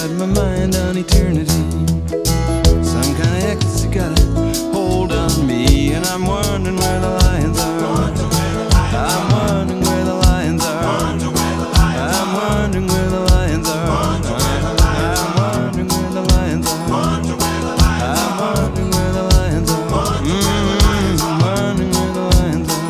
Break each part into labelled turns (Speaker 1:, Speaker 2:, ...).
Speaker 1: got my mind on eternity. Some kind of ecstasy got a hold on me, and I'm wondering where the lions are. I'm wondering where the lions are. I'm wondering where the lions are. I'm wondering where the lions are. I'm wondering where the lions are. I'm wondering where the lions are.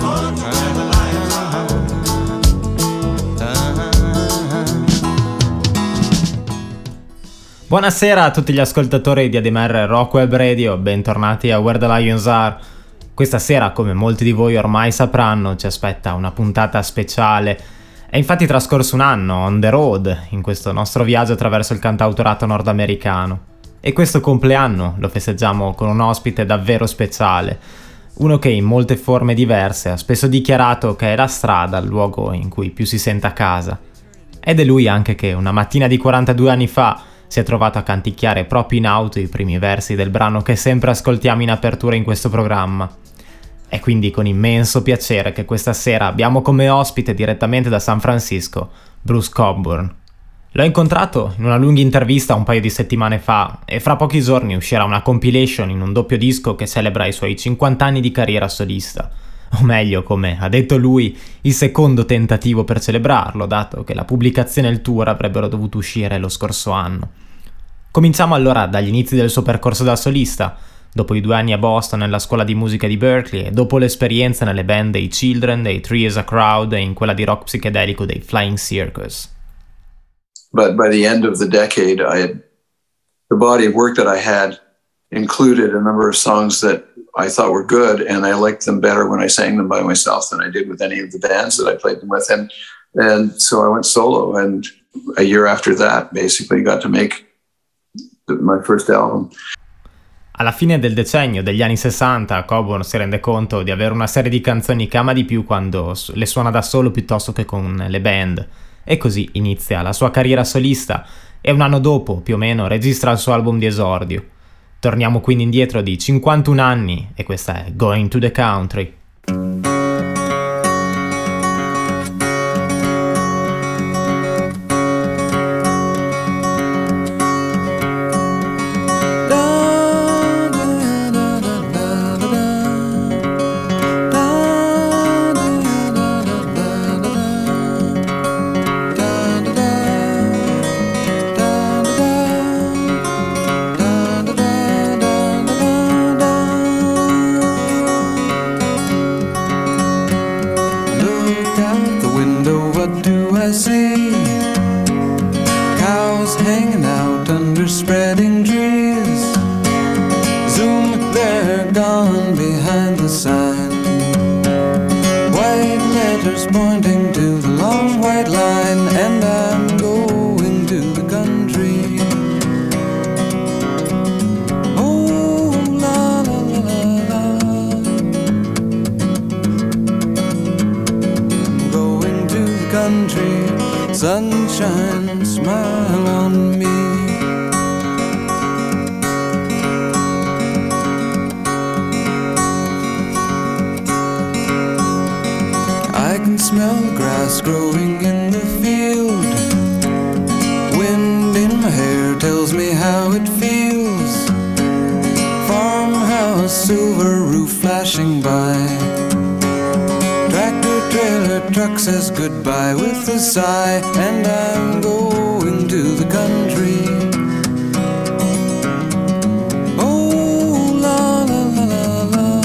Speaker 2: Buonasera a tutti gli ascoltatori di ADMR Rock Web Radio, bentornati a Where the Lions Are. Questa sera, come molti di voi ormai sapranno, ci aspetta una puntata speciale. È infatti trascorso un anno on the road in questo nostro viaggio attraverso il cantautorato nordamericano. E questo compleanno lo festeggiamo con un ospite davvero speciale, uno che in molte forme diverse ha spesso dichiarato che è la strada il luogo in cui più si sente a casa. Ed è lui anche che una mattina di 42 anni fa si è trovato a canticchiare proprio in auto i primi versi del brano che sempre ascoltiamo in apertura in questo programma. È quindi con immenso piacere che questa sera abbiamo come ospite direttamente da San Francisco Bruce Cockburn. L'ho incontrato in una lunga intervista un paio di settimane fa e fra pochi giorni uscirà una compilation in un doppio disco che celebra i suoi 50 anni di carriera solista. O meglio, come ha detto lui, il secondo tentativo per celebrarlo, dato che la pubblicazione e il tour avrebbero dovuto uscire lo scorso anno. Cominciamo allora dagli inizi del suo percorso da solista, dopo i 2 anni a Boston nella scuola di musica di Berkeley e dopo l'esperienza nelle band dei Children, dei Three as a Crowd e in quella di rock psichedelico dei Flying Circus.
Speaker 3: But by the end of the decade, the body of work that I had included a number of songs that I thought were good, and I liked them better when I sang them by myself than I did with any of the bands that I played them with. And so I went solo, and a year after that, basically got to make my first album.
Speaker 2: Alla fine del decennio degli anni 60, Cockburn si rende conto di avere una serie di canzoni che ama di più quando le suona da solo piuttosto che con le band, e così inizia la sua carriera solista e un anno dopo, più o meno, registra il suo album di esordio. Torniamo quindi indietro di 51 anni e questa è Going to the Country.
Speaker 1: Sunshine, smile on me. I can smell the grass growing in the field. Wind in my hair tells me how it feels. Farmhouse, silver roof flashing by. Tractor, trailer, truck says goodbye with a sigh. And I'm going to the country. Oh, la, la, la, la, la.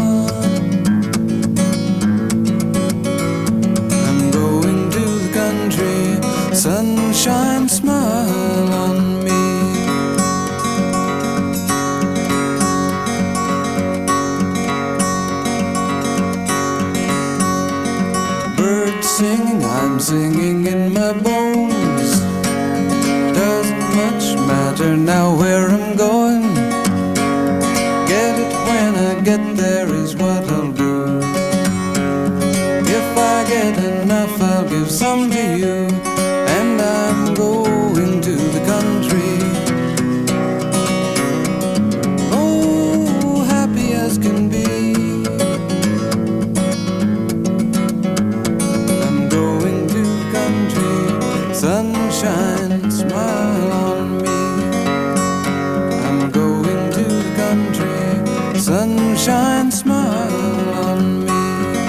Speaker 1: I'm going to the country. Sunshine, smile on me. Singing, I'm singing in my bones. Doesn't much matter now where I'm going. Get it when I get there is what I'll do. If I get enough, I'll give some to you. And I'm going to the country. Oh, happy as can be. Sunshine, smile on me. sunshine smile on me.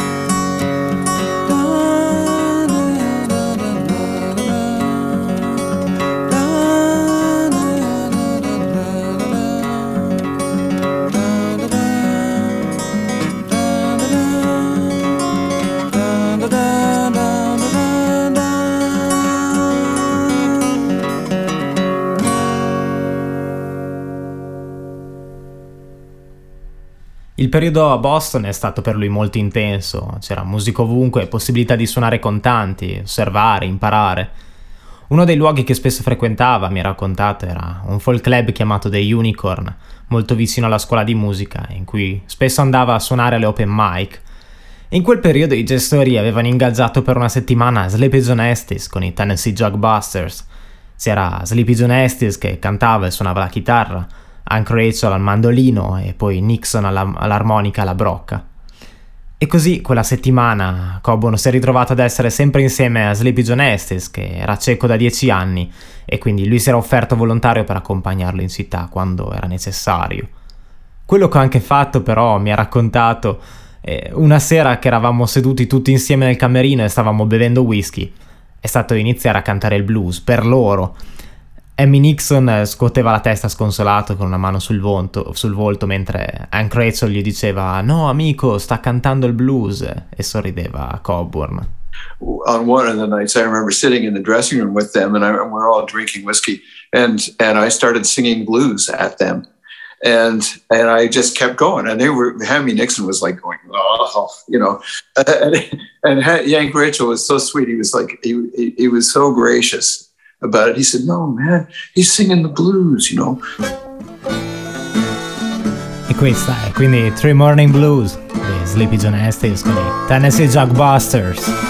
Speaker 2: Il periodo a Boston è stato per lui molto intenso, c'era musica ovunque, possibilità di suonare con tanti, osservare, imparare. Uno dei luoghi che spesso frequentava, mi ha raccontato, era un folk club chiamato The Unicorn, molto vicino alla scuola di musica, in cui spesso andava a suonare alle open mic. In quel periodo i gestori avevano ingaggiato per una settimana Sleepy John Estes con i Tennessee Jugbusters. C'era Sleepy John Estes che cantava e suonava la chitarra, Hank Rachel al mandolino e poi Nixon all'armonica alla brocca. E così quella settimana Coburn si è ritrovato ad essere sempre insieme a Sleepy John Estes, che era cieco da 10 anni, e quindi lui si era offerto volontario per accompagnarlo in città quando era necessario. Quello che ho anche fatto però, mi ha raccontato, una sera che eravamo seduti tutti insieme nel camerino e stavamo bevendo whisky, è stato iniziare a cantare il blues per loro. Amy Nixon scuoteva la testa sconsolato con una mano sul volto mentre Hank Rachel gli diceva «No, amico, sta cantando il blues», e sorrideva a Coburn.
Speaker 3: On one of the nights, I remember sitting in the dressing room with them, and we're all drinking whiskey, and I started singing blues at them, and I just kept going, and Amy Nixon was like going, oh, you know, and Hank Rachel was so sweet. He was like, he was so gracious about it. He said, no, man, he's singing the blues, you know.
Speaker 2: E questa è quindi Three Morning Blues di Sleepy John Estes con i Tennessee Jugbusters.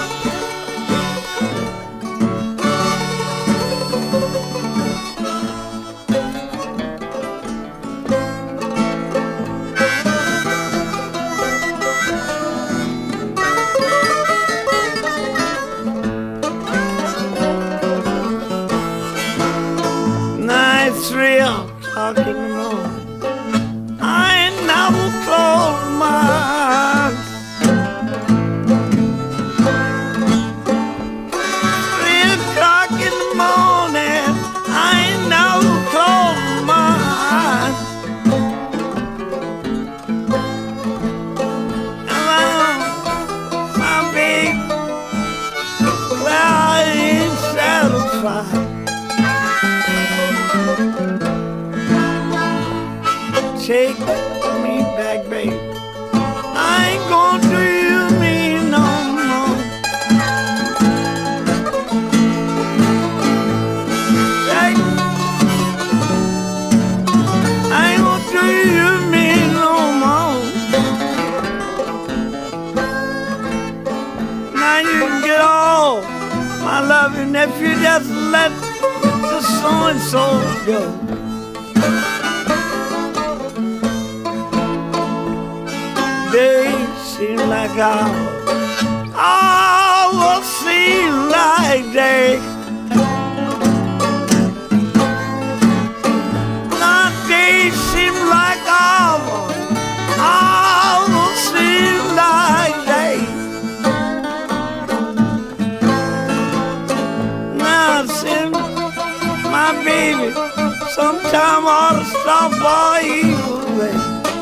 Speaker 1: Take me back, babe. I ain't gonna do you me no more. I ain't gonna do you me no more. Now you can get all my loving if you just let the so-and-so go. Days seem like hours seem like days. Now days seem like hours seem like days. Now since my baby, sometime I ought to stop by evil way.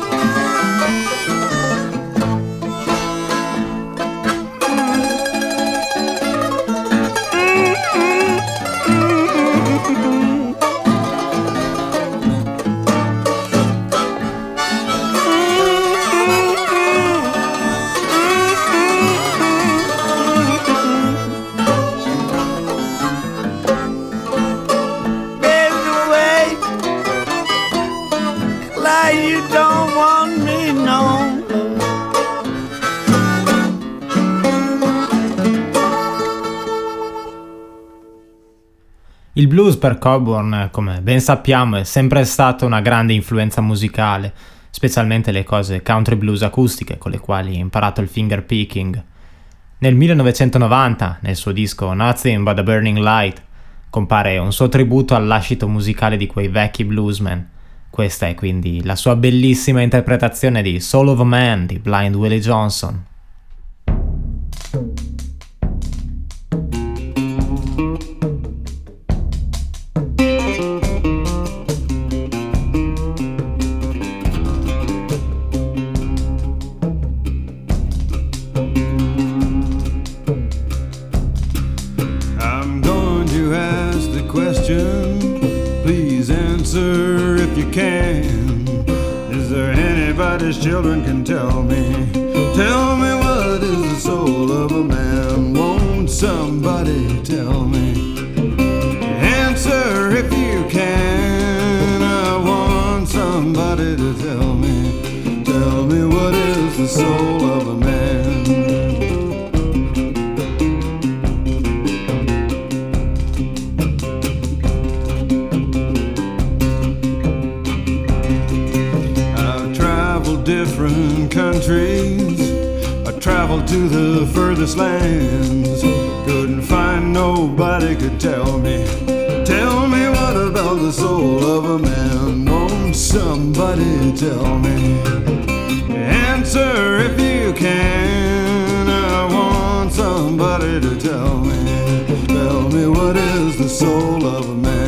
Speaker 2: Il blues per Coburn, come ben sappiamo, è sempre stata una grande influenza musicale, specialmente le cose country blues acustiche con le quali ha imparato il finger picking. Nel 1990, nel suo disco Nothing But a Burning Light, compare un suo tributo al lascito musicale di quei vecchi bluesmen, Questa è quindi la sua bellissima interpretazione di Soul of a Man di Blind Willie Johnson.
Speaker 1: Children can tell me what is the soul of a man? Won't somebody tell me? Answer if you can. I want somebody to tell me what is the soul of a man? Different countries, I traveled to the furthest lands. Couldn't find nobody could tell me what about the soul of a man? Won't somebody tell me? Answer if you can. I want somebody to tell me what is the soul of a man?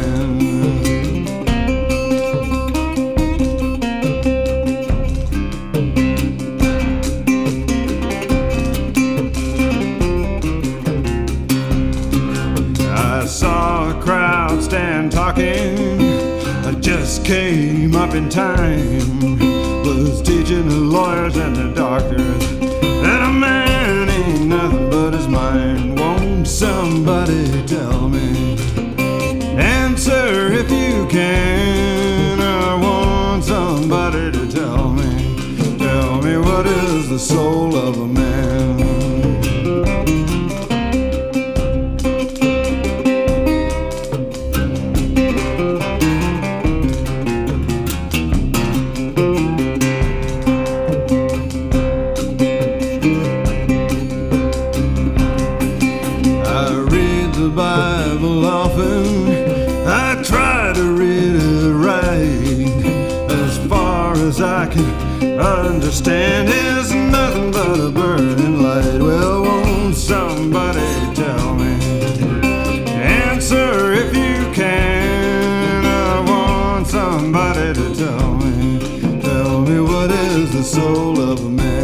Speaker 1: I just came up in time, was teaching the lawyers and the doctors that a man ain't nothing but his mind. Won't somebody tell me? Answer if you can. I want somebody to tell me what is the soul of a man? I can understand is nothing but a burning light. Well, won't somebody tell me? Answer if you can. I want somebody to tell me what is the soul of a man?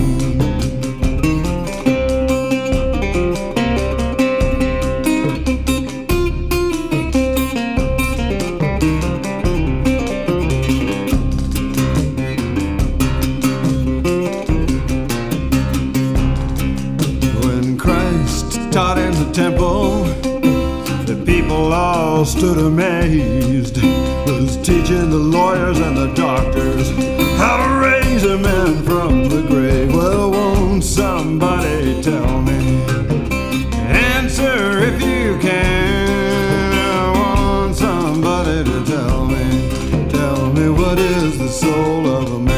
Speaker 1: Temple, the people all stood amazed. Was teaching the lawyers and the doctors how to raise a man from the grave. Well, won't somebody tell me? Answer if you can. I want somebody to tell me what is the soul of a man?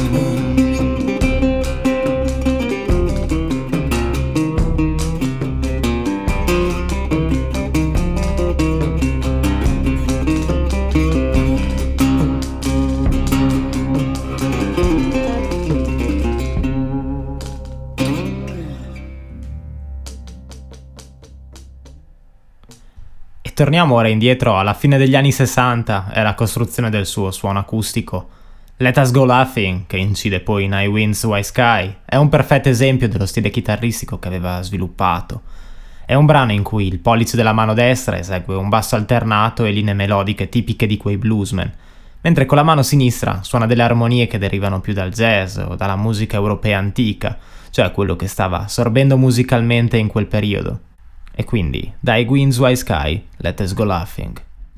Speaker 2: Torniamo ora indietro alla fine degli anni 60 e alla costruzione del suo suono acustico. Let Us Go Laughing, che incide poi in I Winds White Sky, è un perfetto esempio dello stile chitarristico che aveva sviluppato. È un brano in cui il pollice della mano destra esegue un basso alternato e linee melodiche tipiche di quei bluesmen, mentre con la mano sinistra suona delle armonie che derivano più dal jazz o dalla musica europea antica, cioè quello che stava sorbendo musicalmente in quel periodo. E quindi, dai Winds White Sky, Let Us Go Laughing.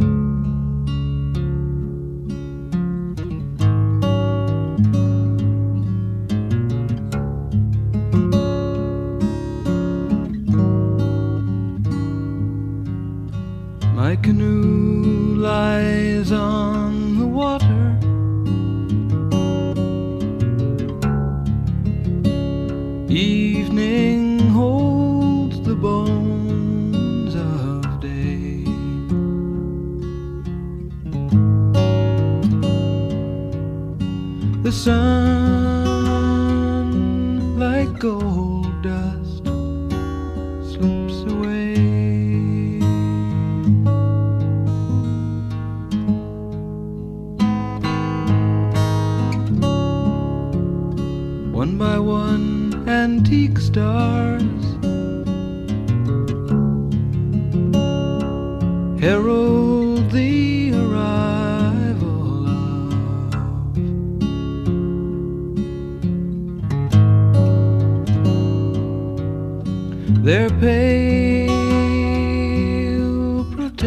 Speaker 1: My canoe lies on the water. Evening holds the bones of day. The sun, like gold dust, slips away. One by one, antique stars herald the arrival of their pale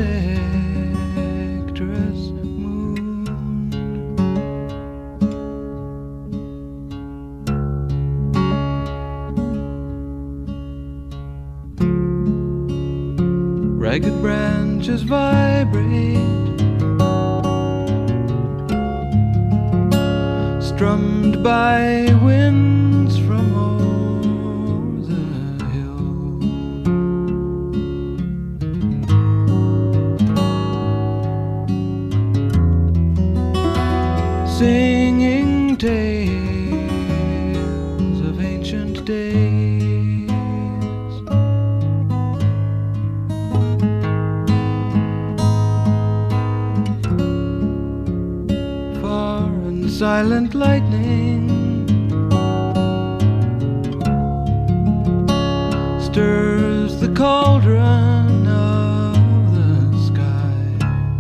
Speaker 1: protectress moon. Ragged branches vibrate, strummed by winds from o'er the hill. Singing tales of ancient days. Silent lightning stirs the cauldron of the sky.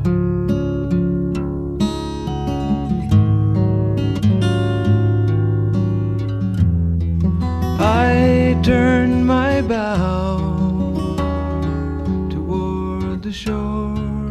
Speaker 1: I turn my bow toward the shore.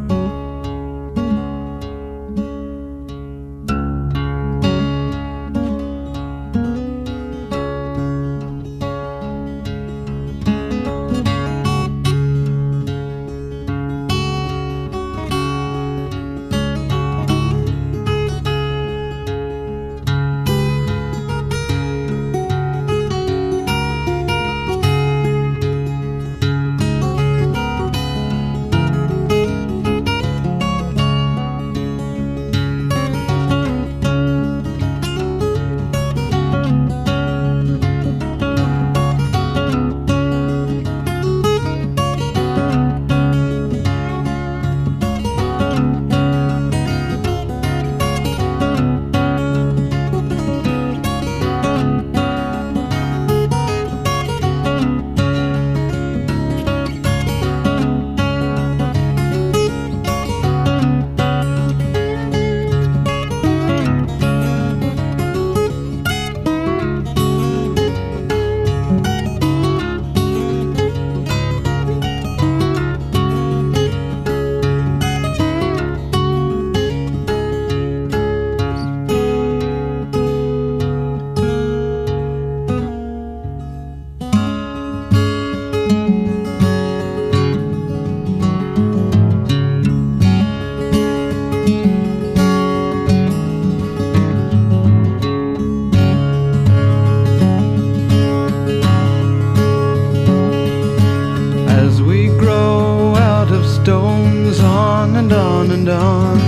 Speaker 1: Stones on and on and on,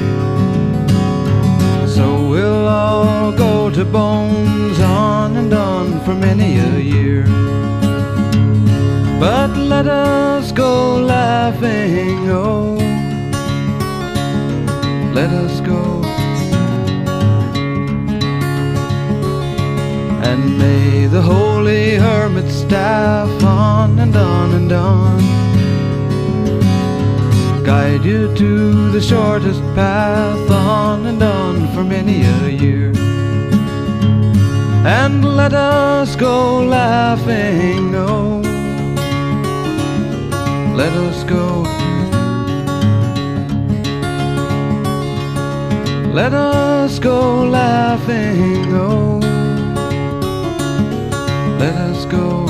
Speaker 1: so we'll all go to bones on and on for many a year. But let us go laughing, oh, let us go. And may the holy hermit staff on and on and on guide you to the shortest path on and on for many a year. And let us go laughing, oh, let us go. Let us go laughing, oh, let us go.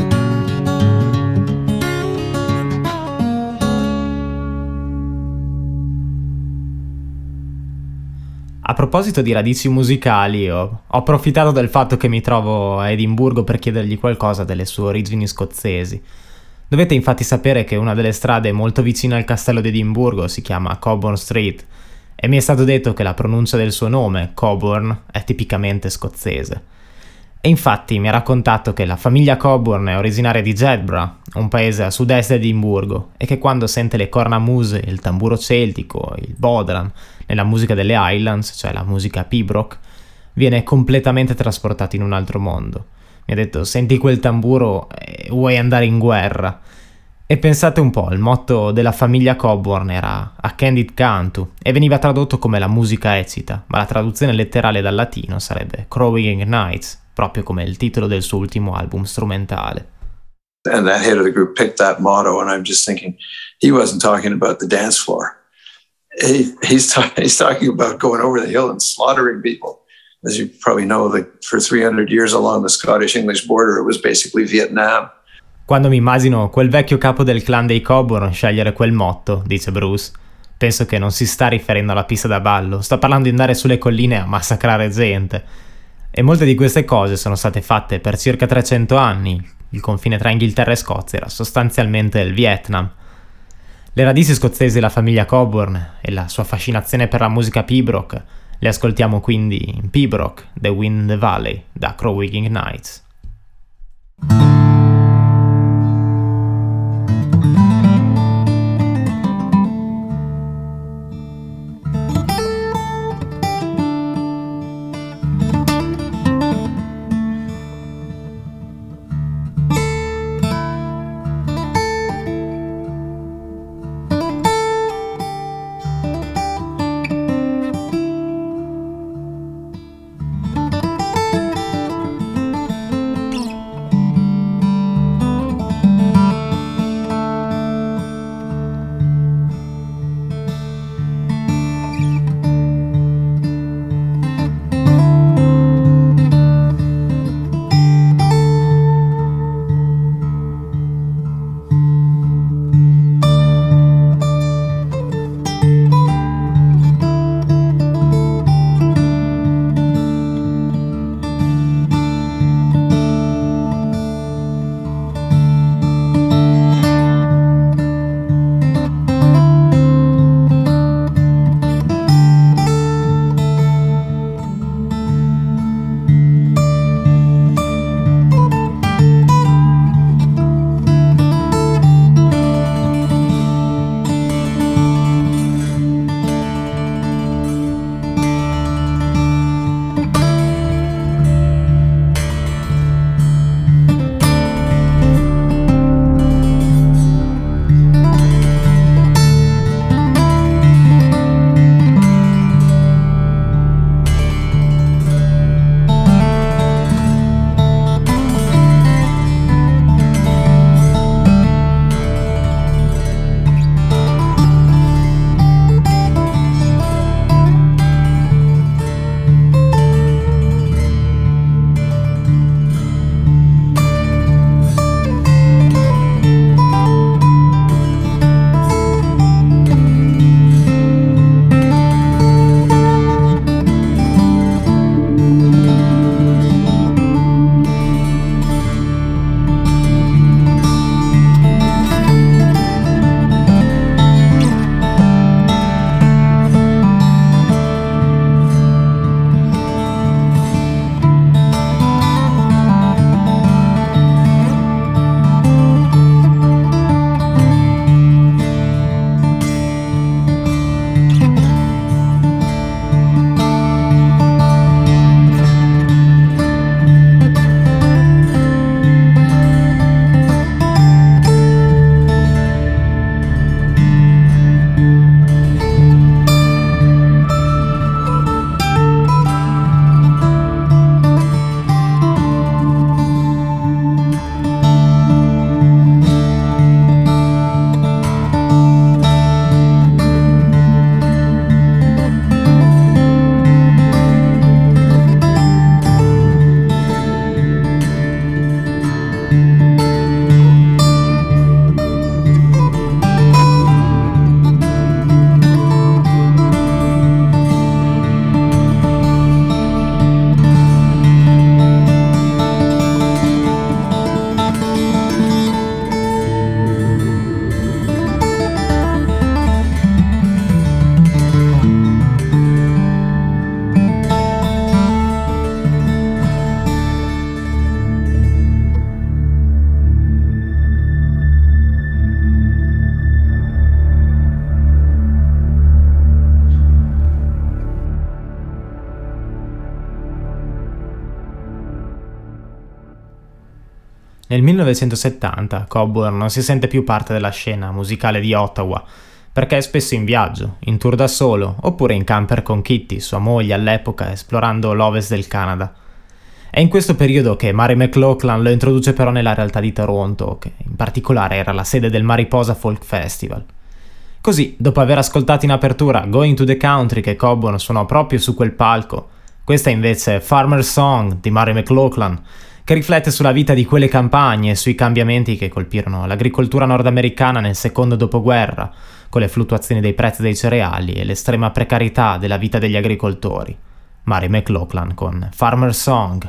Speaker 2: A proposito di radici musicali, ho approfittato del fatto che mi trovo a Edimburgo per chiedergli qualcosa delle sue origini scozzesi. Dovete infatti sapere che una delle strade molto vicine al castello di Edimburgo si chiama Cockburn Street e mi è stato detto che la pronuncia del suo nome, Coburn, è tipicamente scozzese. E infatti mi ha raccontato che la famiglia Coburn è originaria di Jedburgh, un paese a sud-est di Edimburgo, e che quando sente le cornamuse, il tamburo celtico, il bodhran, nella musica delle Highlands, cioè la musica pibroch, viene completamente trasportato in un altro mondo. Mi ha detto: senti quel tamburo e vuoi andare in guerra. E pensate un po', il motto della famiglia Coburn era A Candid Cantu e veniva tradotto come la musica ecita, ma la traduzione letterale dal latino sarebbe Crowing Nights, proprio come il titolo del suo ultimo album strumentale.
Speaker 3: And that head of the group picked that motto, and I'm just thinking, he wasn't talking about the dance floor. He's talking about going over the hill and slaughtering people. As you probably know, for 300 years along the Scottish-English border, it was basically Vietnam.
Speaker 2: Quando mi immagino quel vecchio capo del clan dei Coburn scegliere quel motto, dice Bruce, penso che non si sta riferendo alla pista da ballo, sta parlando di andare sulle colline a massacrare gente. E molte di queste cose sono state fatte per circa 300 anni. Il confine tra Inghilterra e Scozia era sostanzialmente il Vietnam. Le radici scozzesi della famiglia Coburn e la sua fascinazione per la musica pibroch le ascoltiamo quindi in Pibroch, The Wind in the Valley, da Crowing Nights. Nel 1970 Coburn non si sente più parte della scena musicale di Ottawa, perché è spesso in viaggio, in tour da solo, oppure in camper con Kitty, sua moglie all'epoca, esplorando l'ovest del Canada. È in questo periodo che Mary McLachlan lo introduce però nella realtà di Toronto, che in particolare era la sede del Mariposa Folk Festival. Così, dopo aver ascoltato in apertura Going to the Country che Coburn suonò proprio su quel palco, questa invece è Farmer's Song di Mary McLachlan, che riflette sulla vita di quelle campagne e sui cambiamenti che colpirono l'agricoltura nordamericana nel secondo dopoguerra, con le fluttuazioni dei prezzi dei cereali e l'estrema precarietà della vita degli agricoltori. Mary McLachlan con Farmer's Song.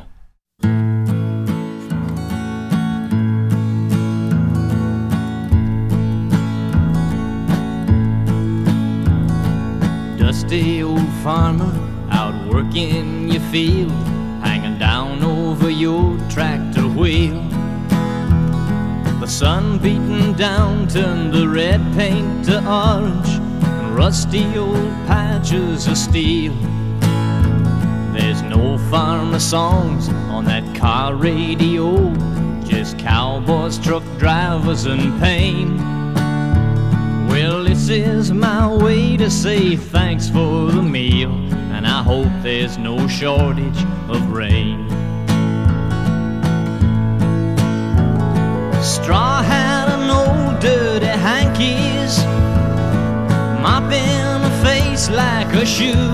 Speaker 4: Dusty old farmer out working your field, hanging down over your tractor wheel. The sun beating down turned the red paint to orange and rusty old patches of steel. There's no farmer songs on that car radio, just cowboys, truck drivers and pain. Well, this is my way to say thanks for the meal, and I hope there's no shortage of rain. Straw hat and old dirty hankies, mopping a face like a shoe.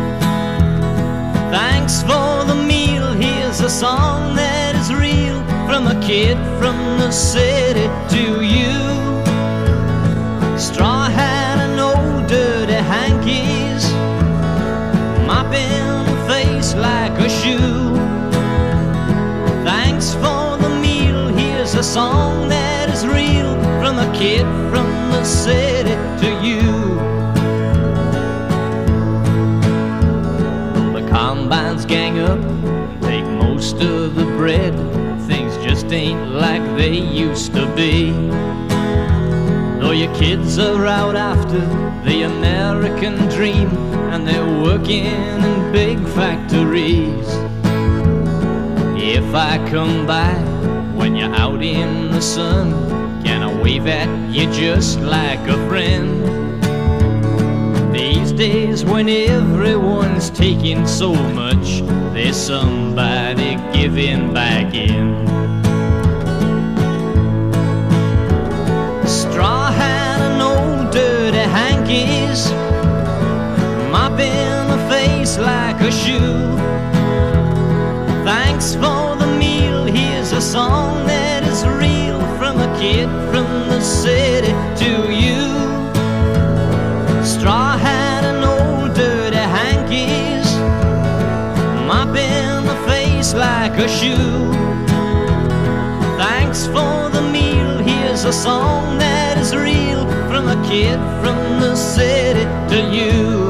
Speaker 4: Thanks for the meal, here's a song that is real, from a kid from the city to you. Straw hat and old dirty hankies, mopping a face like a shoe. Thanks for the meal, here's a song that is real, from a kid from the city to you. Though the combines gang up and take most of the bread, things just ain't like they used to be. Though your kids are out after the American dream, and they're working in big factories. If I come by when you're out in the sun, can I wave at you just like a friend? These days when everyone's taking so much, there's somebody giving back in. Straw hat and old dirty hankies, mopping a face like a shoe. Thanks for the meal, here's a song that is real, from a kid from the city to you. Straw hat and old dirty hankies, mopping a face like a shoe. Thanks for the meal, here's a song that is real, from a kid from the city to you.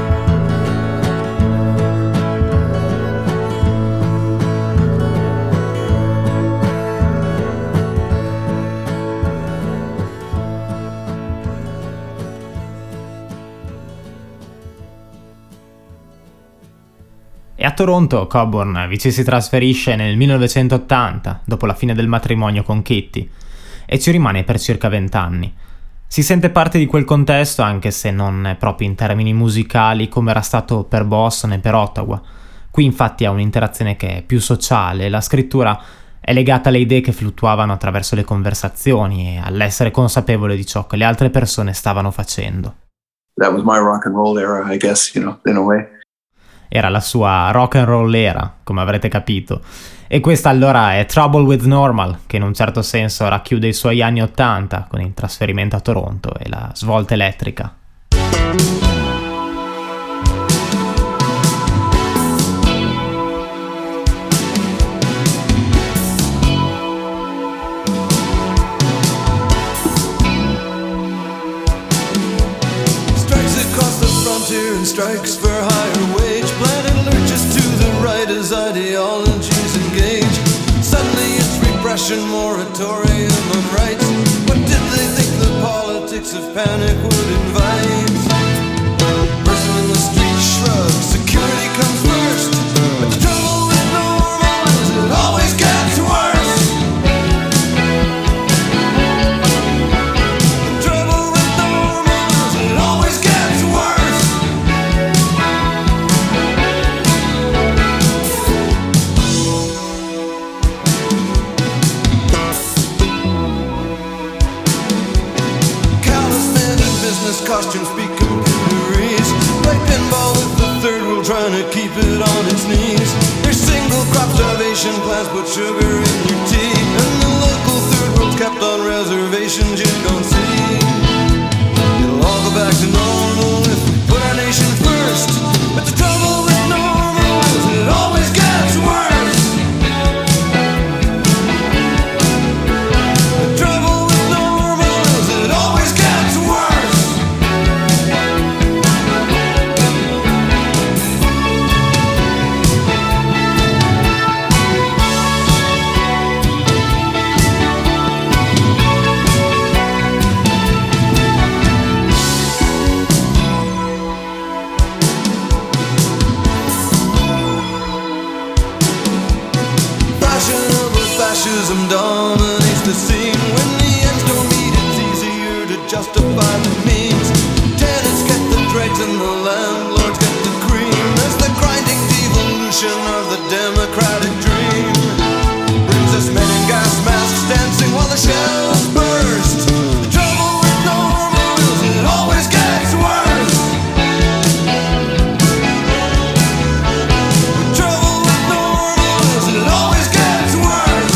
Speaker 2: E a Toronto Coburn vi ci si trasferisce nel 1980, dopo la fine del matrimonio con Kitty, e ci rimane per circa 20 anni. Si sente parte di quel contesto, anche se non proprio in termini musicali come era stato per Boston e per Ottawa. Qui infatti ha un'interazione che è più sociale, e la scrittura è legata alle idee che fluttuavano attraverso le conversazioni e all'essere consapevole di ciò che le altre persone stavano facendo.
Speaker 3: That was my rock and roll era, I guess, in a way.
Speaker 2: Era la sua rock and roll era, come avrete capito. E questa allora è Trouble with Normal, che in un certo senso racchiude i suoi anni '80 con il trasferimento a Toronto e la svolta elettrica.
Speaker 1: Strikes across the frontier and strikes for higher wage. Planet lurches to the right as ideologies engage. Suddenly it's repression, moratorium on rights. What did they think the politics of panic would invite? Person in the street shrugs, security comes first. But the trouble with normal is it always gets worse. trying to keep it on its knees. There's single crop starvation plants put sugar in your tea, and the local third world's kept on reservations you don't see. It'll all go back to normal if we put our nation first, but the trouble with normal is it always gets worse. The trouble with normal is it always gets worse. Fascism dominates the scene. When the ends don't meet, it's easier to justify the means. Tenants get the dregs and the landlords get the cream. There's the grinding devolution of the democratic dream. Brings us men in gas masks dancing while the shells burst. The trouble with normal is it always gets worse. The trouble with normal is it always gets worse.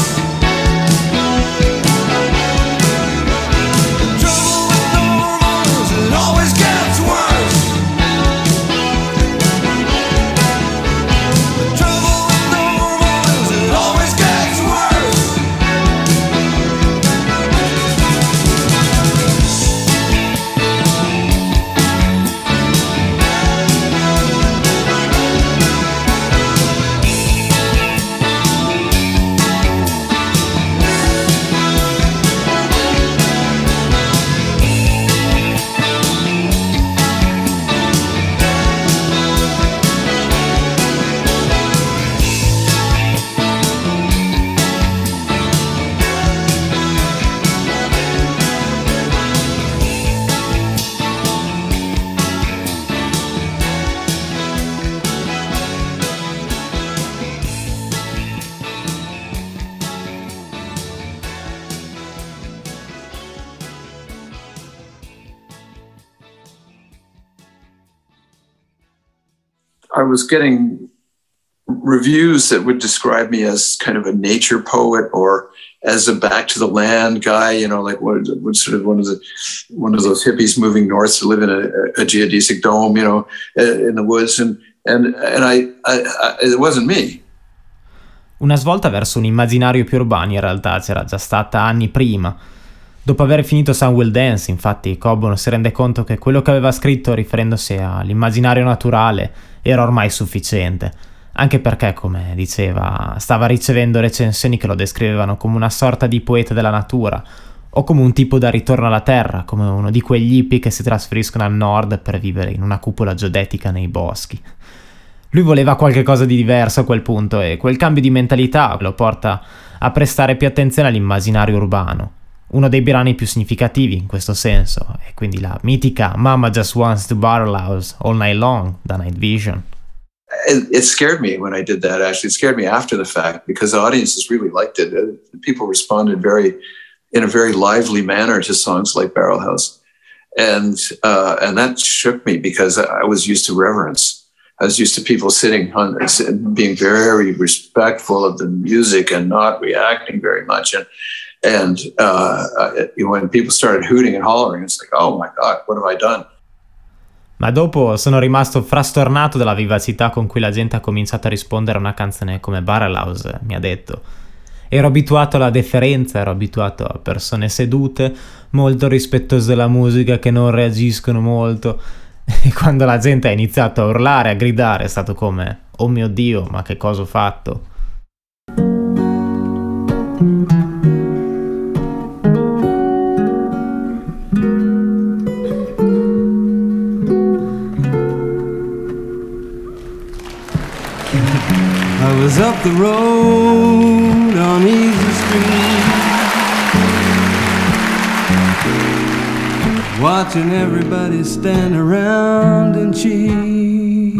Speaker 3: I was getting reviews that would describe me as kind of a nature poet or as a back to the land guy, you know, like what sort of one of those hippies moving north to live in a geodesic dome, you know, in the woods, and I it wasn't me.
Speaker 2: Una svolta verso un immaginario più urbano in realtà c'era già stata anni prima. Dopo aver finito Sun Will Dance, infatti, Coburn si rende conto che quello che aveva scritto riferendosi all'immaginario naturale era ormai sufficiente, anche perché, come diceva, stava ricevendo recensioni che lo descrivevano come una sorta di poeta della natura, o come un tipo da ritorno alla terra, come uno di quegli hippie che si trasferiscono al nord per vivere in una cupola geodetica nei boschi. Lui voleva qualche cosa di diverso a quel punto e quel cambio di mentalità lo porta a prestare più attenzione all'immaginario urbano. Uno dei brani più significativi in questo senso è quindi la mitica Mama Just Wants to Barrel House All Night Long da Night Vision.
Speaker 3: It scared me when I did that, actually. It scared me after the fact because the audiences really liked it. People responded in a very lively manner to songs like Barrel House. And that shook me because I was used to reverence. I was used to people being very respectful of the music and not reacting very much. And when people started hooting and hollering, it's like, oh my God, what have I done?
Speaker 2: Ma dopo sono rimasto frastornato dalla vivacità con cui la gente ha cominciato a rispondere a una canzone come Barrel House, mi ha detto. Ero abituato alla deferenza, ero abituato a persone sedute, molto rispettose della musica, che non reagiscono molto. E quando la gente ha iniziato a urlare, a gridare, è stato come, oh mio Dio, ma che cosa ho fatto?
Speaker 1: I was up the road on Easy Street, watching everybody stand around and cheat.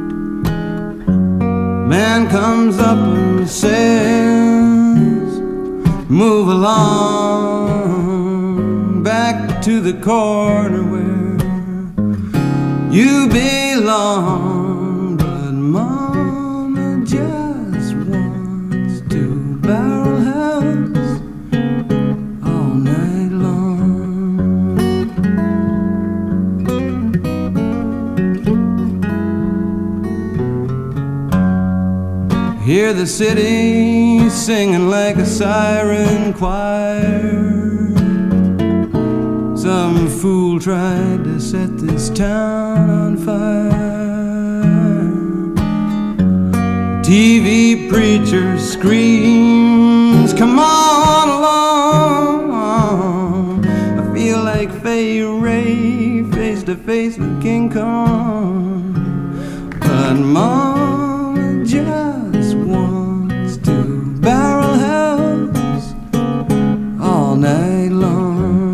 Speaker 1: Man comes up and says, move along back to the corner where you belong. Hear the city singing like a siren choir. Some fool tried to set this town on fire. TV preacher screams, come on along. I feel like Fay Ray face to face with King Kong. But Mama just wants to barrel house all night long.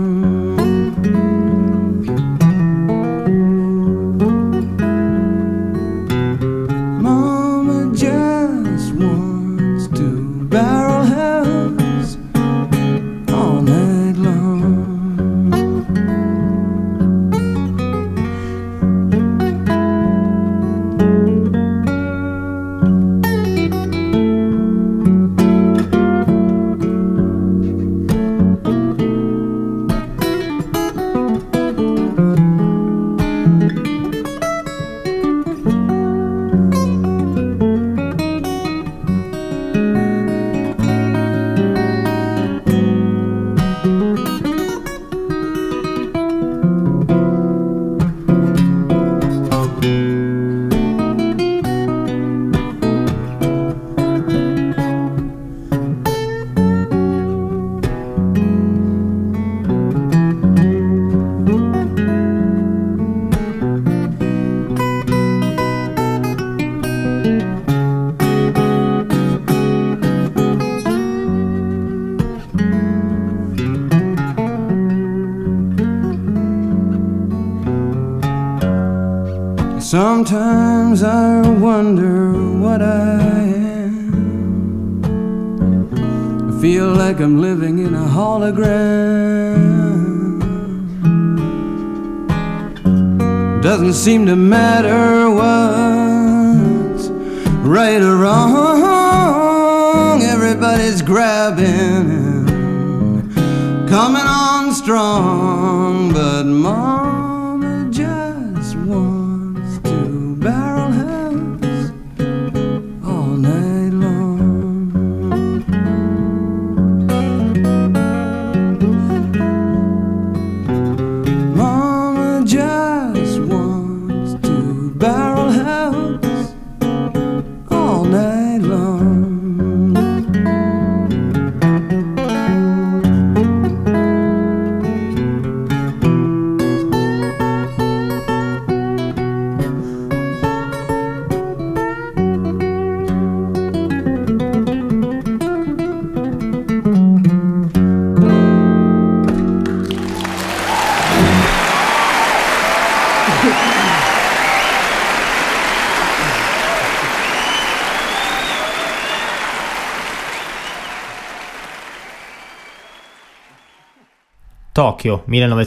Speaker 1: Sometimes I wonder what I am. I feel like I'm living in a hologram. Doesn't seem to matter what's right or wrong. Everybody's grabbing and coming on strong. But Mama just wants to barrel house all night long. Mama just wants to barrel house all night long.
Speaker 2: Tokyo,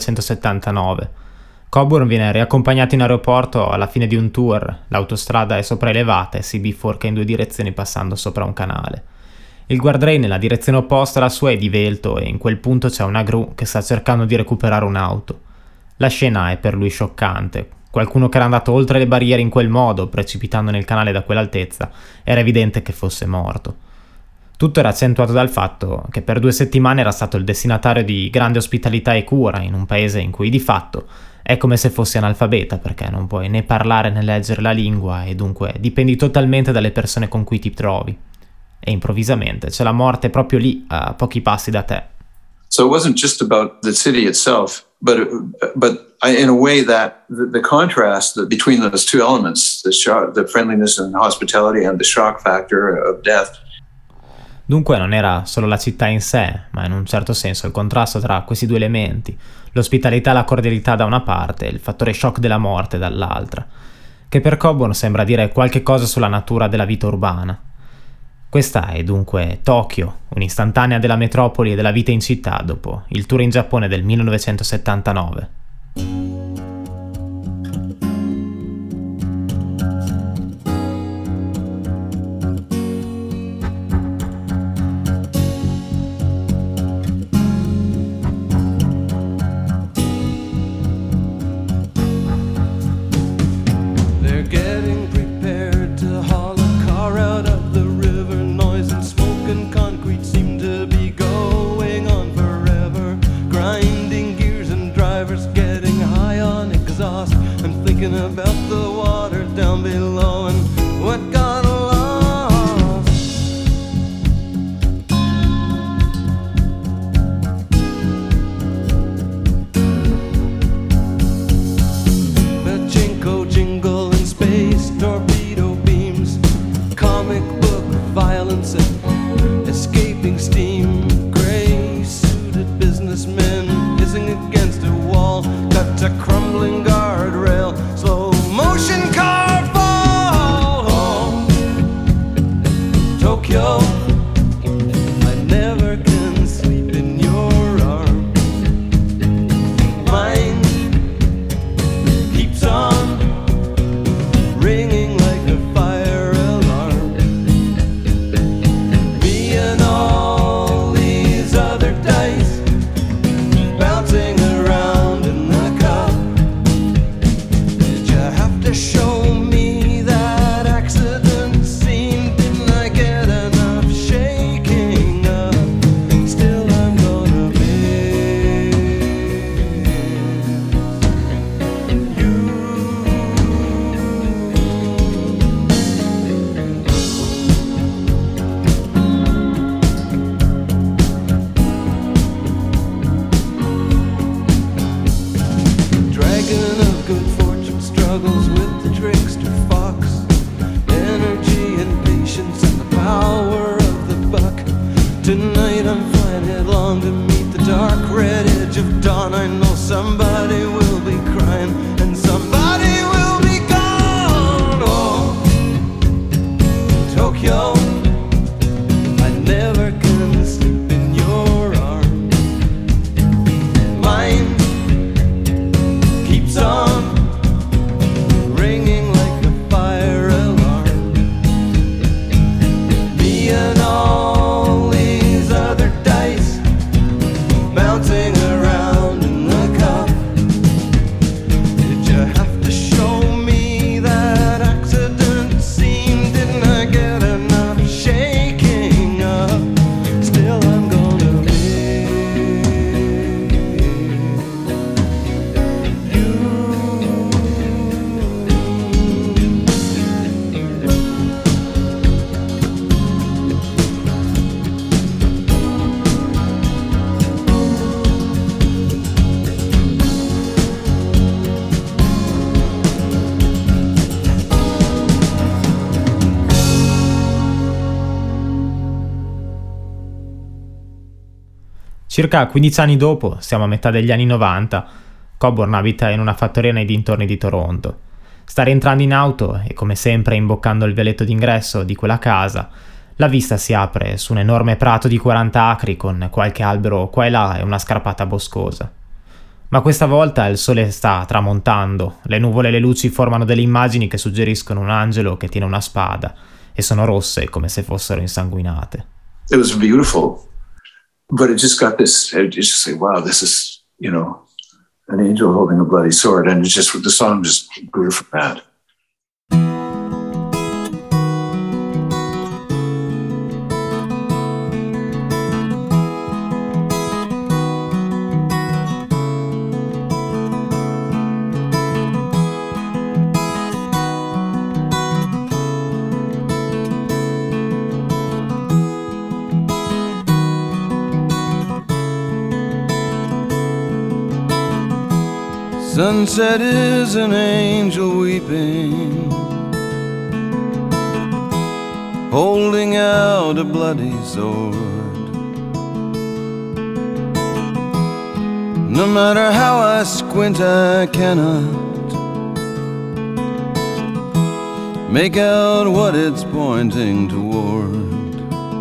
Speaker 2: 1979. Coburn viene riaccompagnato in aeroporto alla fine di un tour. L'autostrada è sopraelevata e si biforca in due direzioni passando sopra un canale. Il guardrail nella direzione opposta alla sua è divelto e in quel punto c'è una gru che sta cercando di recuperare un'auto. La scena è per lui scioccante. Qualcuno che era andato oltre le barriere in quel modo, precipitando nel canale da quell'altezza, era evidente che fosse morto. Tutto era accentuato dal fatto che per 2 settimane era stato il destinatario di grande ospitalità e cura in un paese in cui di fatto è come se fossi analfabeta, perché non puoi né parlare né leggere la lingua e dunque dipendi totalmente dalle persone con cui ti trovi. E improvvisamente c'è la morte proprio lì, a pochi passi da te.
Speaker 3: So it wasn't just about the city itself, but in a way that the contrast between those two elements, the friendliness and hospitality and the shock factor of death.
Speaker 2: Dunque non era solo la città in sé, ma in un certo senso il contrasto tra questi due elementi, l'ospitalità e la cordialità da una parte e il fattore shock della morte dall'altra, che per Coburn sembra dire qualche cosa sulla natura della vita urbana. Questa è dunque Tokyo, un'istantanea della metropoli e della vita in città dopo il tour in Giappone del 1979.
Speaker 1: Getting prepared to haul a car out of the river. somebody will be crying, and somebody will be gone. Oh, Tokyo, I never can sleep in your arms. Mine keeps on ringing like a fire alarm. Me and all these other dice bouncing around in the cup. Did you have to show me that accident scene? Didn't I get enough shaking up? Still I'm gonna miss you.
Speaker 2: Circa 15 anni dopo, siamo a metà degli anni 90, Coburn abita in una fattoria nei dintorni di Toronto. Sta rientrando in auto e, come sempre, imboccando il vialetto d'ingresso di quella casa, la vista si apre su un enorme prato di 40 acri con qualche albero qua e là e una scarpata boscosa. Ma questa volta il sole sta tramontando, le nuvole e le luci formano delle immagini che suggeriscono un angelo che tiene una spada e sono rosse come se fossero insanguinate.
Speaker 3: It was beautiful, but it just got this. It just like, wow, this is, you know, an angel holding a bloody sword, and it just the song just grew from that.
Speaker 1: Sunset is an angel weeping, holding out a bloody sword. No matter how I squint, I cannot make out what it's pointing toward.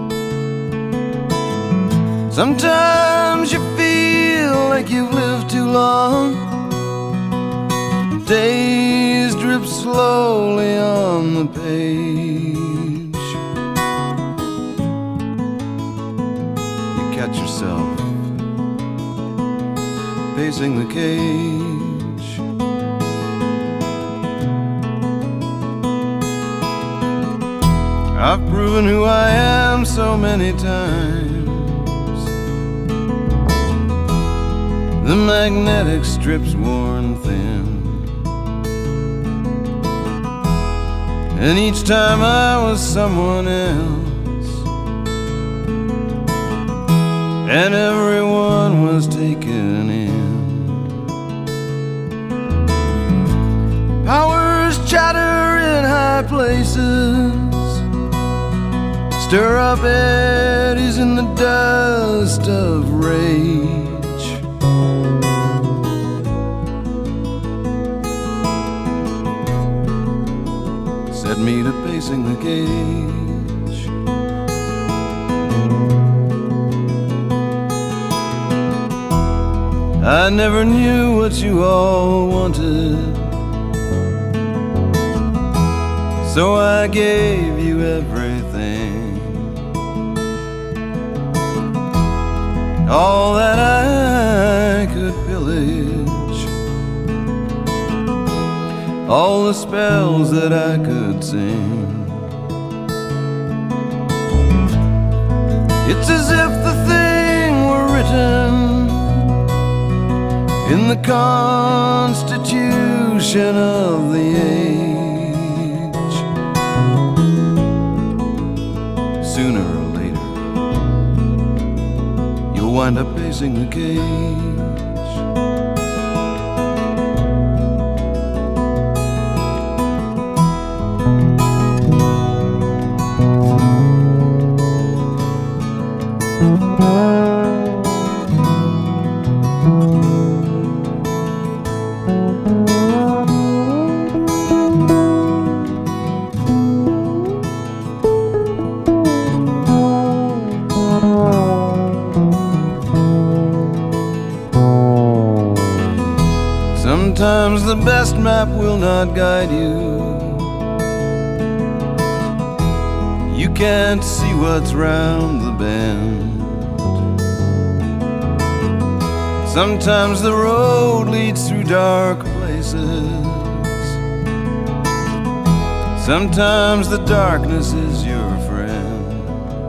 Speaker 1: Sometimes you feel like you've lived too long. Days drip slowly on the page. You catch yourself pacing the cage. I've proven who I am so many times. The magnetic strip's worn thin, and each time I was someone else, and everyone was taken in. Powers chatter in high places, stir up eddies in the dust of rage. Set me to pacing the cage. I never knew what you all wanted, so I gave you everything, all that I could pillage, all the spells that I could sing. It's as if the thing were written in the constitution of the age. Sooner or later, you'll wind up pacing the cage. map will not guide you. You can't see what's round the bend. Sometimes the road leads through dark places. Sometimes the darkness is your friend.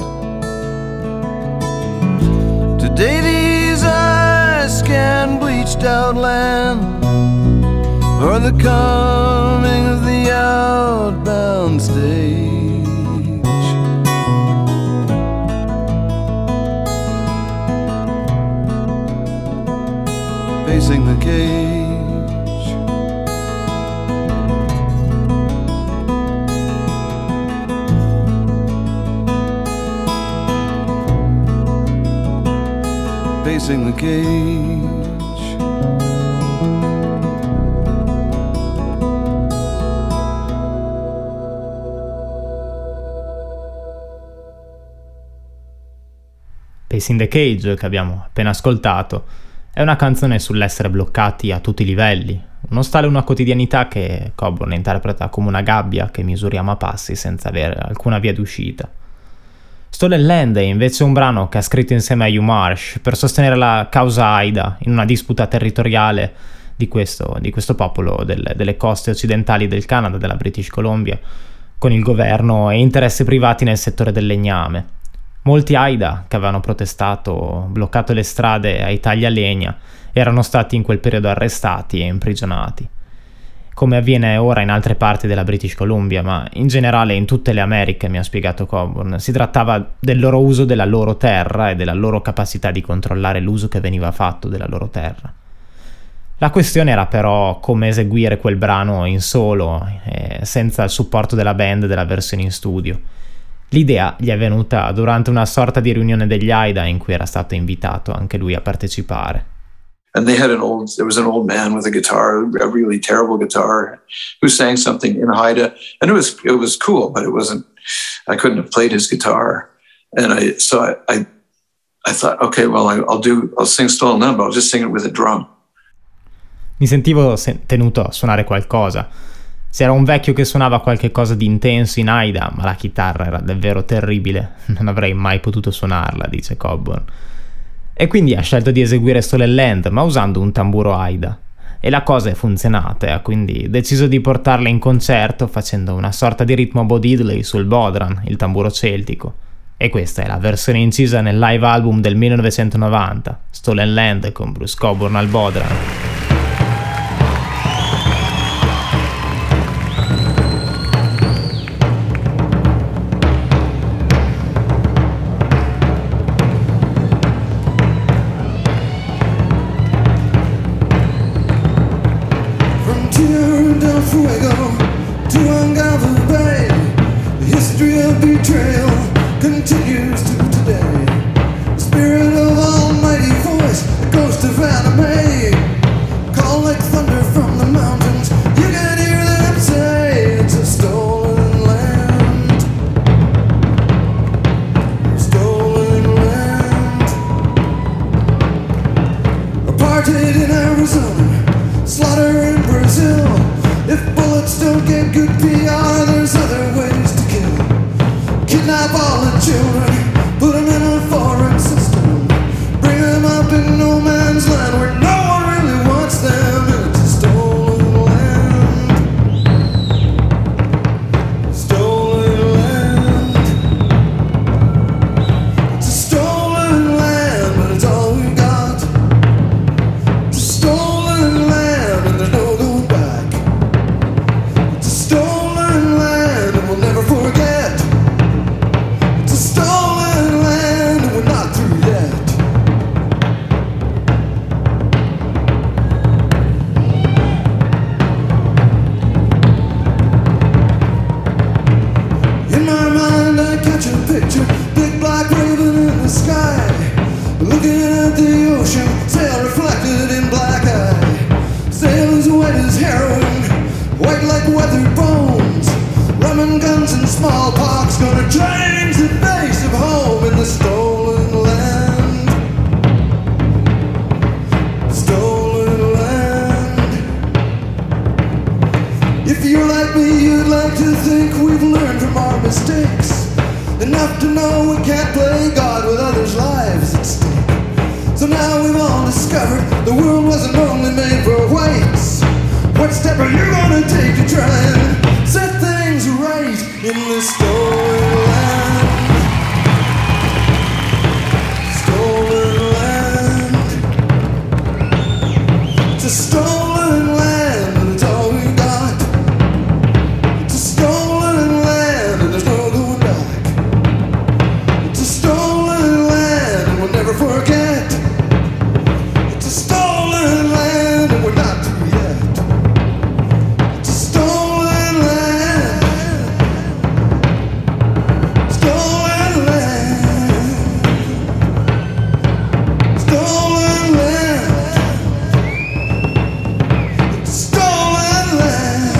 Speaker 1: Today these eyes scan bleached out land for the coming of the outbound stage. Facing the cage. Facing the cage.
Speaker 2: Pacing the Cage, che abbiamo appena ascoltato, è una canzone sull'essere bloccati a tutti i livelli, uno stile e una quotidianità che Coburn interpreta come una gabbia che misuriamo a passi senza avere alcuna via d'uscita. Stolen Land è invece un brano che ha scritto insieme a Hugh Marsh per sostenere la causa Haida in una disputa territoriale di questo popolo delle coste occidentali del Canada, della British Columbia, con il governo e interessi privati nel settore del legname. Molti Haida che avevano protestato, bloccato le strade ai tagli a legna, erano stati in quel periodo arrestati e imprigionati. Come avviene ora in altre parti della British Columbia, ma in generale in tutte le Americhe, mi ha spiegato Coburn, si trattava del loro uso della loro terra e della loro capacità di controllare l'uso che veniva fatto della loro terra. La questione era però come eseguire quel brano in solo, senza il supporto della band della versione in studio. L'idea gli è venuta durante una sorta di riunione degli Haida in cui era stato invitato anche lui a partecipare.
Speaker 3: And there was an old man with a guitar, a really terrible guitar, who sang something in Haida, and it was cool, but I couldn't have played his guitar. And I thought, okay, well, I'll sing Stolen Land, but I'll just sing it with a drum.
Speaker 2: Mi sentivo tenuto a suonare qualcosa. C'era un vecchio che suonava qualche cosa di intenso in Haida, ma la chitarra era davvero terribile, non avrei mai potuto suonarla, dice Coburn. E quindi ha scelto di eseguire Stolen Land, ma usando un tamburo Haida. E la cosa è funzionata, e ha quindi deciso di portarla in concerto facendo una sorta di ritmo Bo Diddley sul bodhran, il tamburo celtico. E questa è la versione incisa nel live album del 1990, Stolen Land con Bruce Coburn al bodhran.
Speaker 1: Fuego to Ungava Bay. The history of betrayal continues to today. The spirit of almighty voice, the ghost of anime, call like thunder from the mountains. You can hear them say it's a stolen land. Stolen land. Apartheid in Arizona, slaughter in Brazil. If bullets don't get good PR, there's other ways to kill. Kidnap all the children, put them in a foreign system, bring them up in no man's land where no one really wants them. It's a stolen land. Stolen land. It's a stolen land, but it's all we got. It's a stolen land, and there's no going back. Stolen land and we'll never forget. It's a stolen land and we're not through yet. In my mind I catch a picture, big black raven in the sky, looking at the ocean, sail reflected in black eye. Sail as white as heroin, white like weathered bones. Rum and guns and smallpox gonna change the face of home in the stolen land. Stolen land. to think we've learned from our mistakes, enough to know we can't play God with others' lives at stake. So now we've all discovered the world wasn't only made for whites. What step are you gonna take to try and set things right in this stolen land? Stolen land. It's a stolen land, but it's all we got. It's a stolen land, and there's no going back. It's a stolen land, and we'll never forget. It's a stolen land, and we're not through yet. It's a stolen land. Stolen land. Stolen land. It's a stolen land.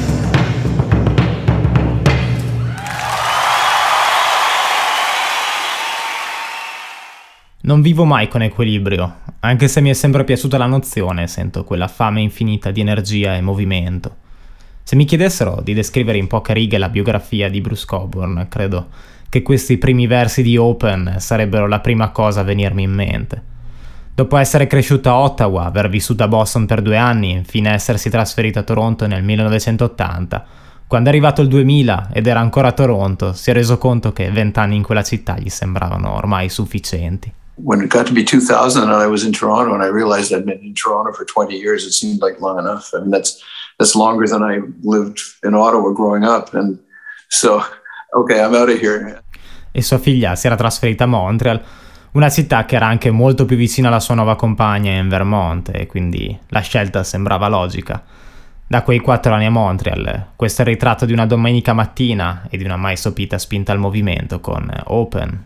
Speaker 2: Non vivo mai con equilibrio, anche se mi è sempre piaciuta la nozione, sento quella fame infinita di energia e movimento. Se mi chiedessero di descrivere in poche righe la biografia di Bruce Cockburn, credo che questi primi versi di Open sarebbero la prima cosa a venirmi in mente. Dopo essere cresciuto a Ottawa, aver vissuto a Boston per 2 anni e infine essersi trasferito a Toronto nel 1980, quando è arrivato il 2000 ed era ancora a Toronto, si è reso conto che 20 anni in quella città gli sembravano ormai sufficienti.
Speaker 3: When it got to be 2000 and I was in Toronto and I realized I'd been in Toronto for 20 years, it seemed like long enough. I mean, that's longer than I lived in Ottawa growing up. And so, okay, I'm out of here.
Speaker 2: E sua figlia si era trasferita a Montreal, una città che era anche molto più vicina alla sua nuova compagna in Vermont, e quindi la scelta sembrava logica. Da quei 4 anni a Montreal, questo è il ritratto di una domenica mattina e di una mai sopita spinta al movimento con Open.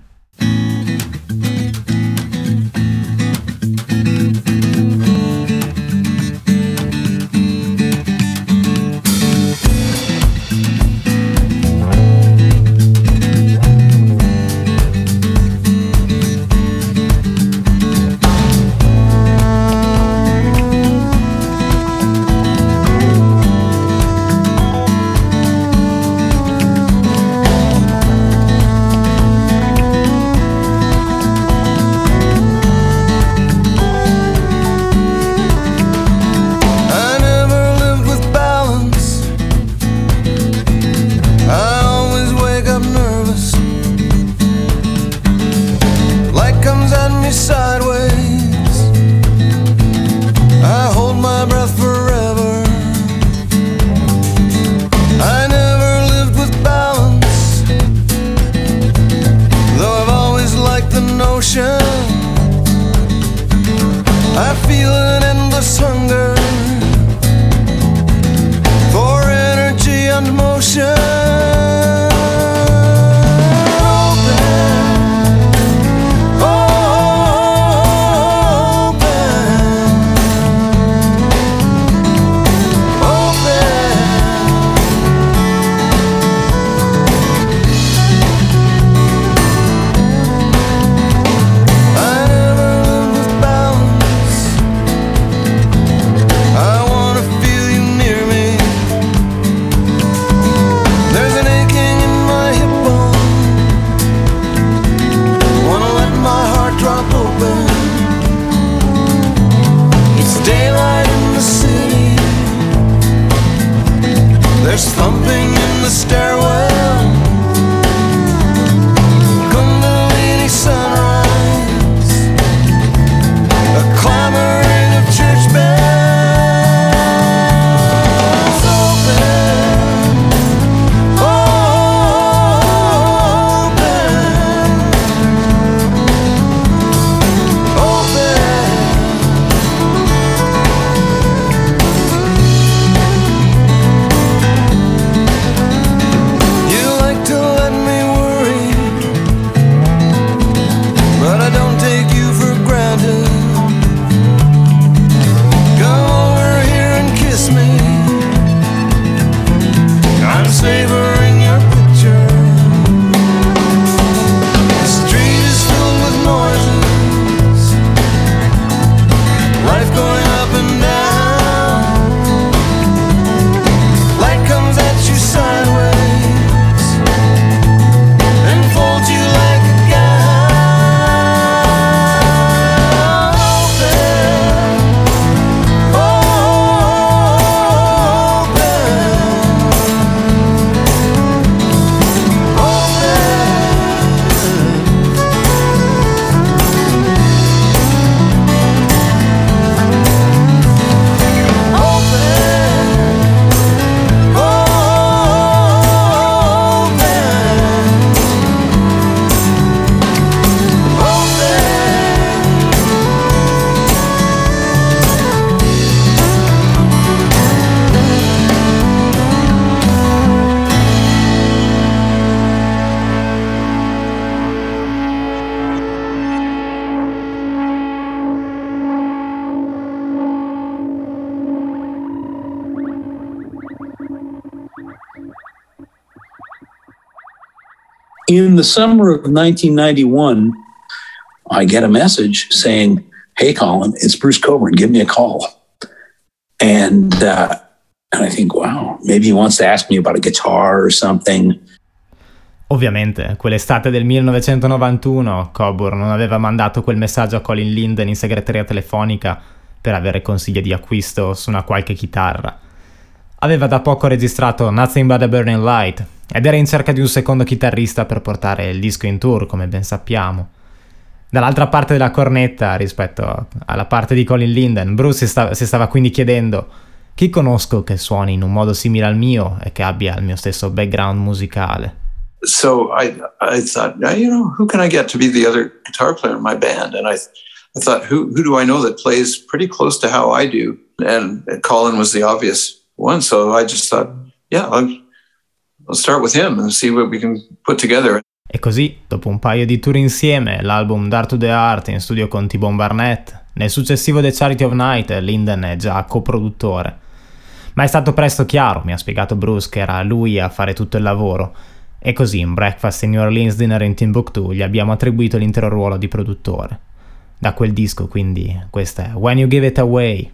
Speaker 5: In the summer of 1991, I get a message saying, "Hey, Colin, it's Bruce Cockburn. Give me a call." And I think, wow, maybe he wants to ask me about a guitar or something.
Speaker 2: Ovviamente, quell'estate del 1991, Cockburn non aveva mandato quel messaggio a Colin Linden in segreteria telefonica per avere consigli di acquisto su una qualche chitarra. Aveva da poco registrato Nothing But a Burning Light ed era in cerca di un secondo chitarrista per portare il disco in tour, come ben sappiamo. Dall'altra parte della cornetta, rispetto alla parte di Colin Linden, Bruce si stava quindi chiedendo: chi conosco che suoni in un modo simile al mio e che abbia il mio stesso background musicale?
Speaker 3: So I thought, who can I get to be the other guitar player in my band? And I thought, who do I know that plays pretty close to how I do? And Colin was the obvious one. So I just thought, yeah, I'll start with him and see what we can put together.
Speaker 2: E così, dopo un paio di tour insieme, l'album Dark to the Heart in studio con T-Bone Barnett, nel successivo The Charity of Night, Linden è già coproduttore. Ma è stato presto chiaro, mi ha spiegato Bruce, che era lui a fare tutto il lavoro. E così, in Breakfast in New Orleans, Dinner in Timbuktu, gli abbiamo attribuito l'intero ruolo di produttore. Da quel disco, quindi, questa è When You Give It Away.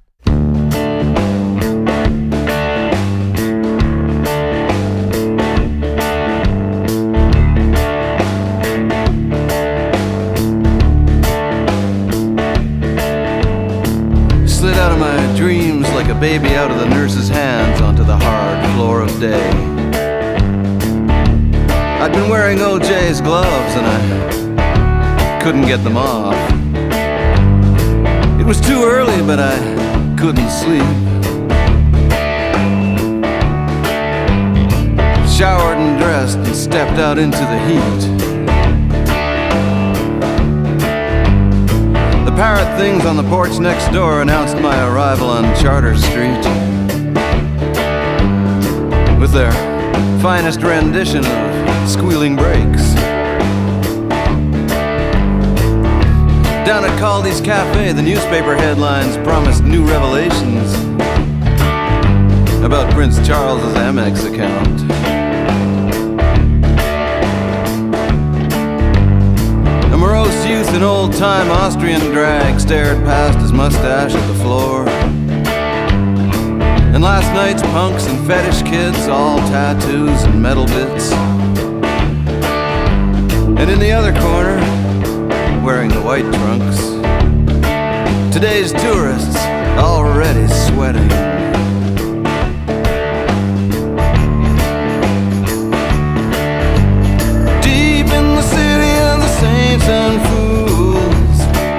Speaker 1: Slid out of my dreams like a baby out of the nurse's hands onto the hard floor of day. I'd been wearing OJ's gloves and I couldn't get them off. It was too early, but I couldn't sleep. Showered and dressed and stepped out into the heat. The parrot things on the porch next door announced my arrival on Charter Street with their finest rendition of Squealing Brakes. Down at Caldi's Cafe, the newspaper headlines promised new revelations about Prince Charles's Amex account. A morose youth in old-time Austrian drag stared past his mustache at the floor. And last night's punks and fetish kids, all tattoos and metal bits. And in the other corner, wearing the white trunks, today's tourists already sweating. Deep in the city of the saints and fools,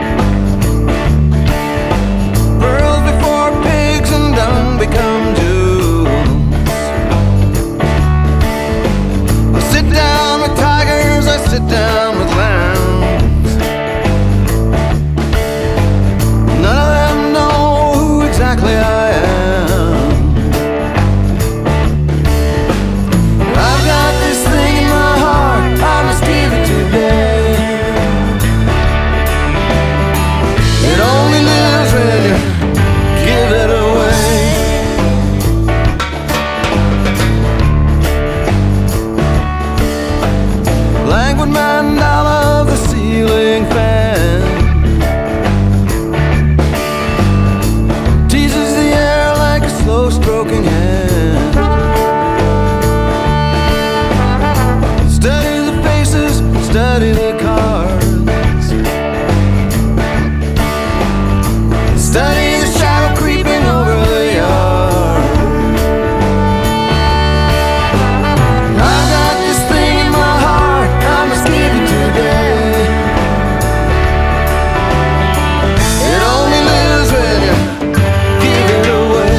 Speaker 1: pearls before pigs and dung become jewels. I sit down with tigers, I sit down with lambs. None of them know who exactly I am. I've got this thing in my heart, I must give it today. It only lives when you give it away. Languid mandala of the ceiling fan teases the air like a slow stroking hand. Study the faces, study the cards. Study the shadow creeping over the yard. I've got this thing in my heart, I must give it today. It only lives when you give it away.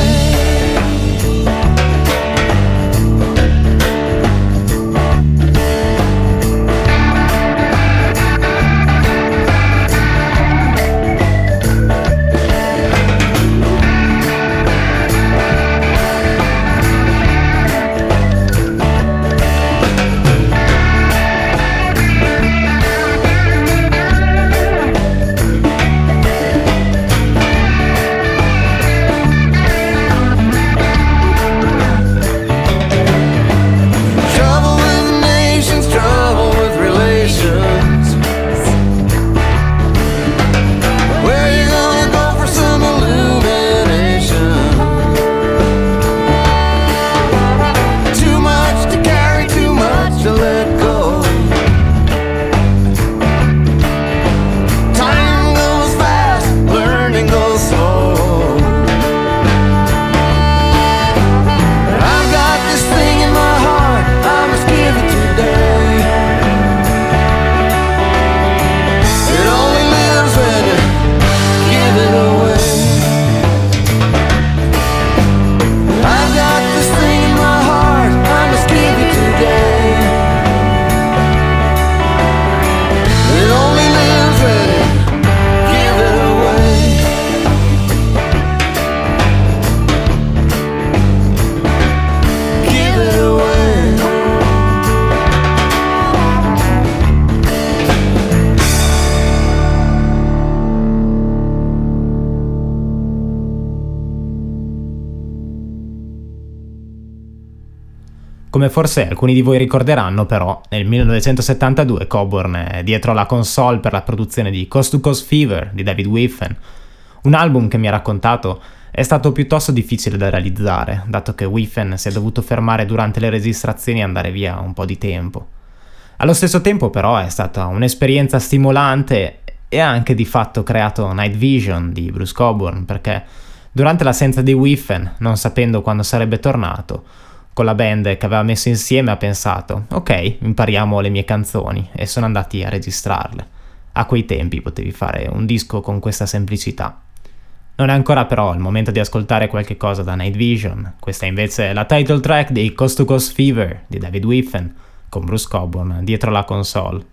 Speaker 2: Come forse alcuni di voi ricorderanno, però, nel 1972 Coburn è dietro la console per la produzione di Coast to Coast Fever di David Wiffen, un album che mi ha raccontato è stato piuttosto difficile da realizzare, dato che Wiffen si è dovuto fermare durante le registrazioni e andare via un po' di tempo. Allo stesso tempo, però, è stata un'esperienza stimolante e ha anche di fatto creato Night Vision di Bruce Coburn, perché durante l'assenza di Wiffen, non sapendo quando sarebbe tornato, con la band che aveva messo insieme ha pensato ok, impariamo le mie canzoni, e sono andati a registrarle. A quei tempi potevi fare un disco con questa semplicità. Non è ancora però il momento di ascoltare qualche cosa da Night Vision. Questa è invece la title track di Coast to Coast Fever di David Wiffen, con Bruce Coburn dietro la console.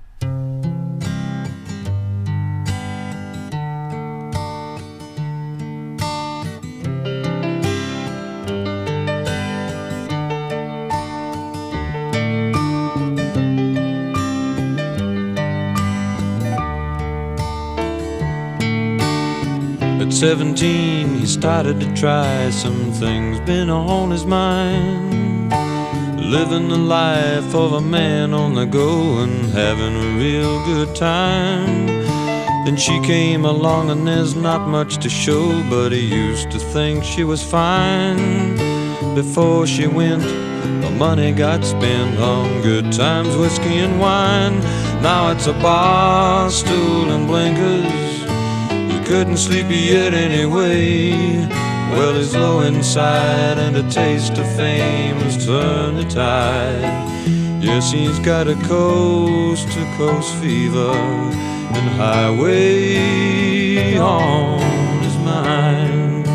Speaker 1: At 17, he started to try some things been on his mind. Living the life of a man on the go and having a real good time. Then she came along and there's not much to show, but he used to think she was fine. Before she went, the money got spent on good times, whiskey and wine. Now it's a bar stool and blinkers. Couldn't sleep yet anyway. Well, he's low inside and a taste of fame has turned the tide. Yes, he's got a coast-to-coast fever and highway on his mind.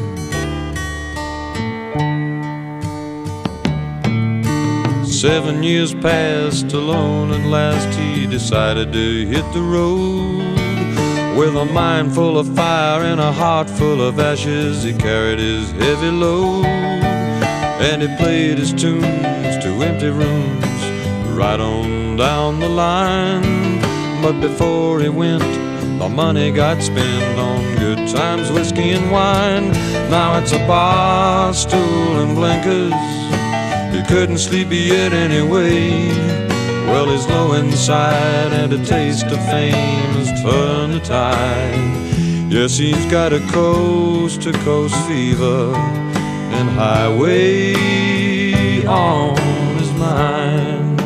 Speaker 1: Seven years passed alone. At last he decided to hit the road. With a mind full of fire and a heart full of ashes, he carried his heavy load. And he played his tunes to empty rooms right on down the line. But before he went, the money got spent on good times, whiskey and wine. Now it's a bar stool and blinkers. He couldn't sleep yet anyway. Well, he's low inside and a taste of fame has turned the tide. Yes, he's got a coast-to-coast fever and highway on his mind.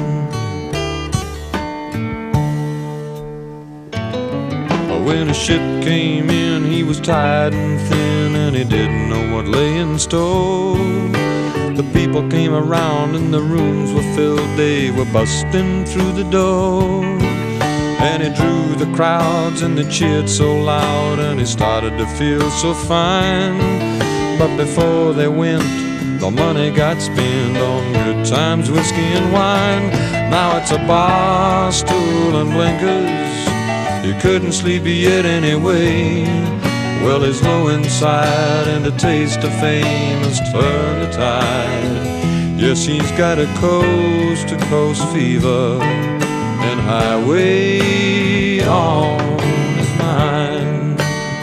Speaker 1: When a ship came in, he was tired and thin, and he didn't know what lay in store. The people came around and the rooms were filled. They were busting through the door. And he drew the crowds and they cheered so loud, and he started to feel so fine. But before they went, the money got spent on good times, whiskey and wine. Now it's a bar stool and blinkers. You couldn't sleep yet anyway. Well, he's low inside and a taste of fame has turned the tide. Yes, he's got a coast-to-coast fever and highway on his mind.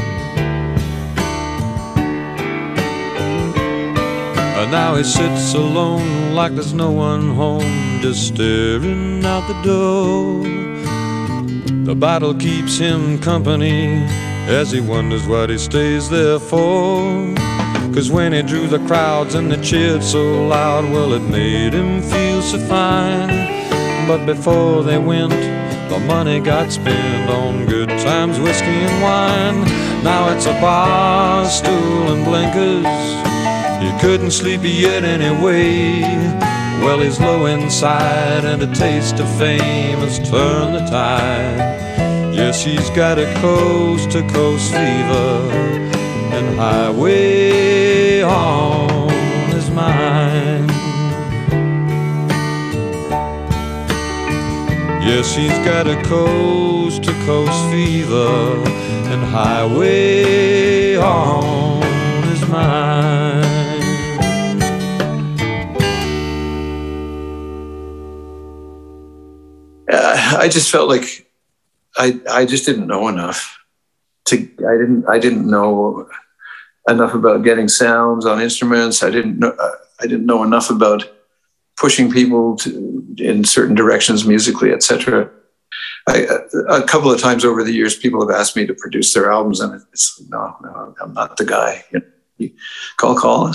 Speaker 1: And now he sits alone like there's no one home, just staring out the door. The bottle keeps him company as he wonders what he stays there for. 'Cause when he drew the crowds and they cheered so loud, well, it made him feel so fine. But before they went, the money got spent on good times, whiskey and wine. Now it's a bar stool and blinkers. He couldn't sleep yet anyway. Well, he's low inside and a taste of fame has turned the tide. Yes, he's got a coast-to-coast fever and highway on his mind. Yes, he's got a coast-to-coast fever and highway on his mind.
Speaker 3: I just felt like I just didn't know enough. I didn't know enough about getting sounds on instruments. I didn't know enough about pushing people in certain directions musically, etc. A couple of times over the years, people have asked me to produce their albums, and it's no, I'm not the guy. Call Colin.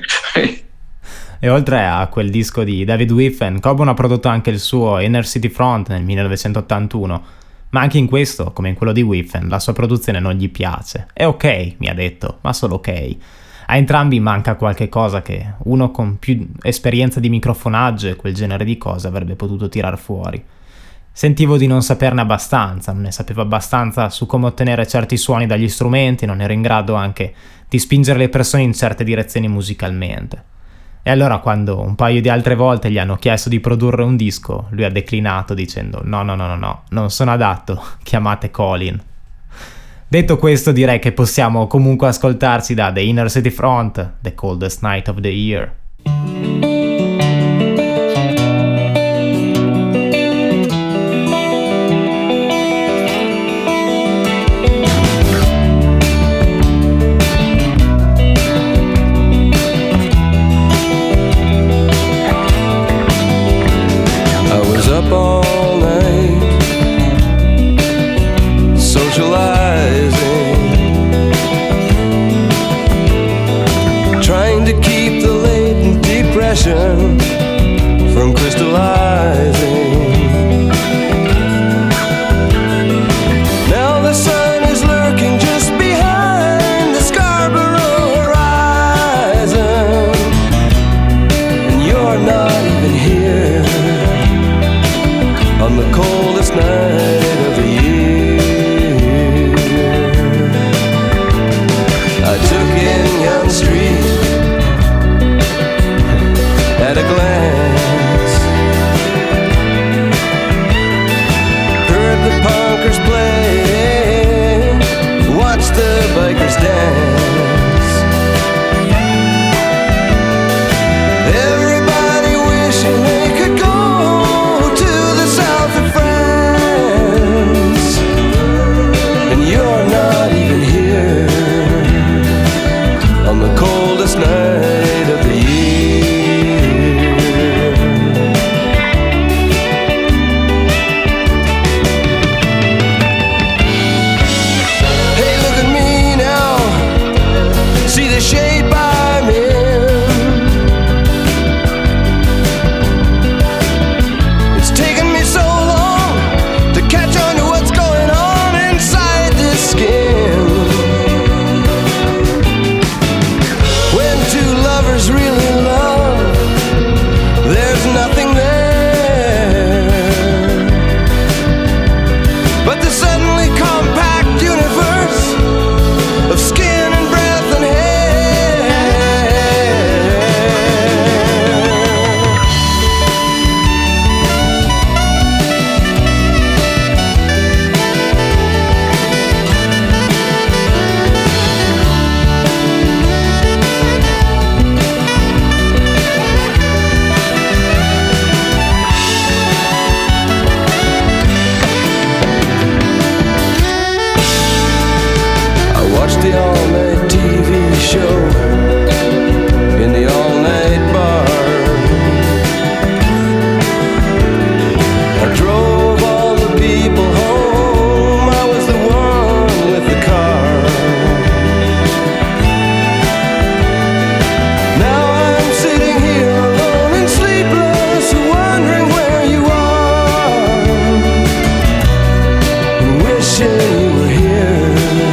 Speaker 2: E oltre a quel disco di David Whiffen, Coburn ha prodotto anche il suo Inner City Front nel 1981, ma anche in questo, come in quello di Whiffen, la sua produzione non gli piace. È ok, mi ha detto, ma solo ok. A entrambi manca qualche cosa che uno con più esperienza di microfonaggio e quel genere di cose avrebbe potuto tirar fuori. Sentivo di non saperne abbastanza, non ne sapevo abbastanza su come ottenere certi suoni dagli strumenti, non ero in grado anche di spingere le persone in certe direzioni musicalmente. E allora quando un paio di altre volte gli hanno chiesto di produrre un disco, lui ha declinato dicendo no, non sono adatto, chiamate Colin. Detto questo, direi che possiamo comunque ascoltarci da The Inner City Front, The Coldest Night of the Year.
Speaker 1: All night socializing, trying to keep the latent depression from crystallizing. Now the sun is lurking just behind the Scarborough horizon, and you're not even here on the coldest night of the year. I took in Yonge Street at a glance, heard the punkers play, watched the bikers dance. Everybody wishing they could go on the coldest night of the year. Hey, look at me now, see the shape I'm in. It's taken me so long to catch on to what's going on inside this skin. Really love, there's nothing there but the suddenly compact universe of skin and breath and the all-night TV show in the all-night bar. I drove all the people home, I was the one with the car. Now I'm sitting here alone and sleepless, wondering where you are, and wishing you were here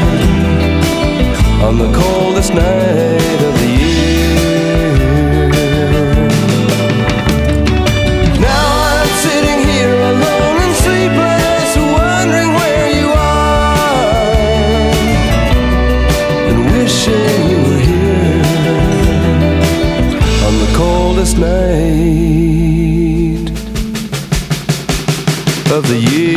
Speaker 1: on the coldest night of the year. Now I'm sitting here alone and sleepless, wondering where you are, and wishing you were here on the coldest night of the year.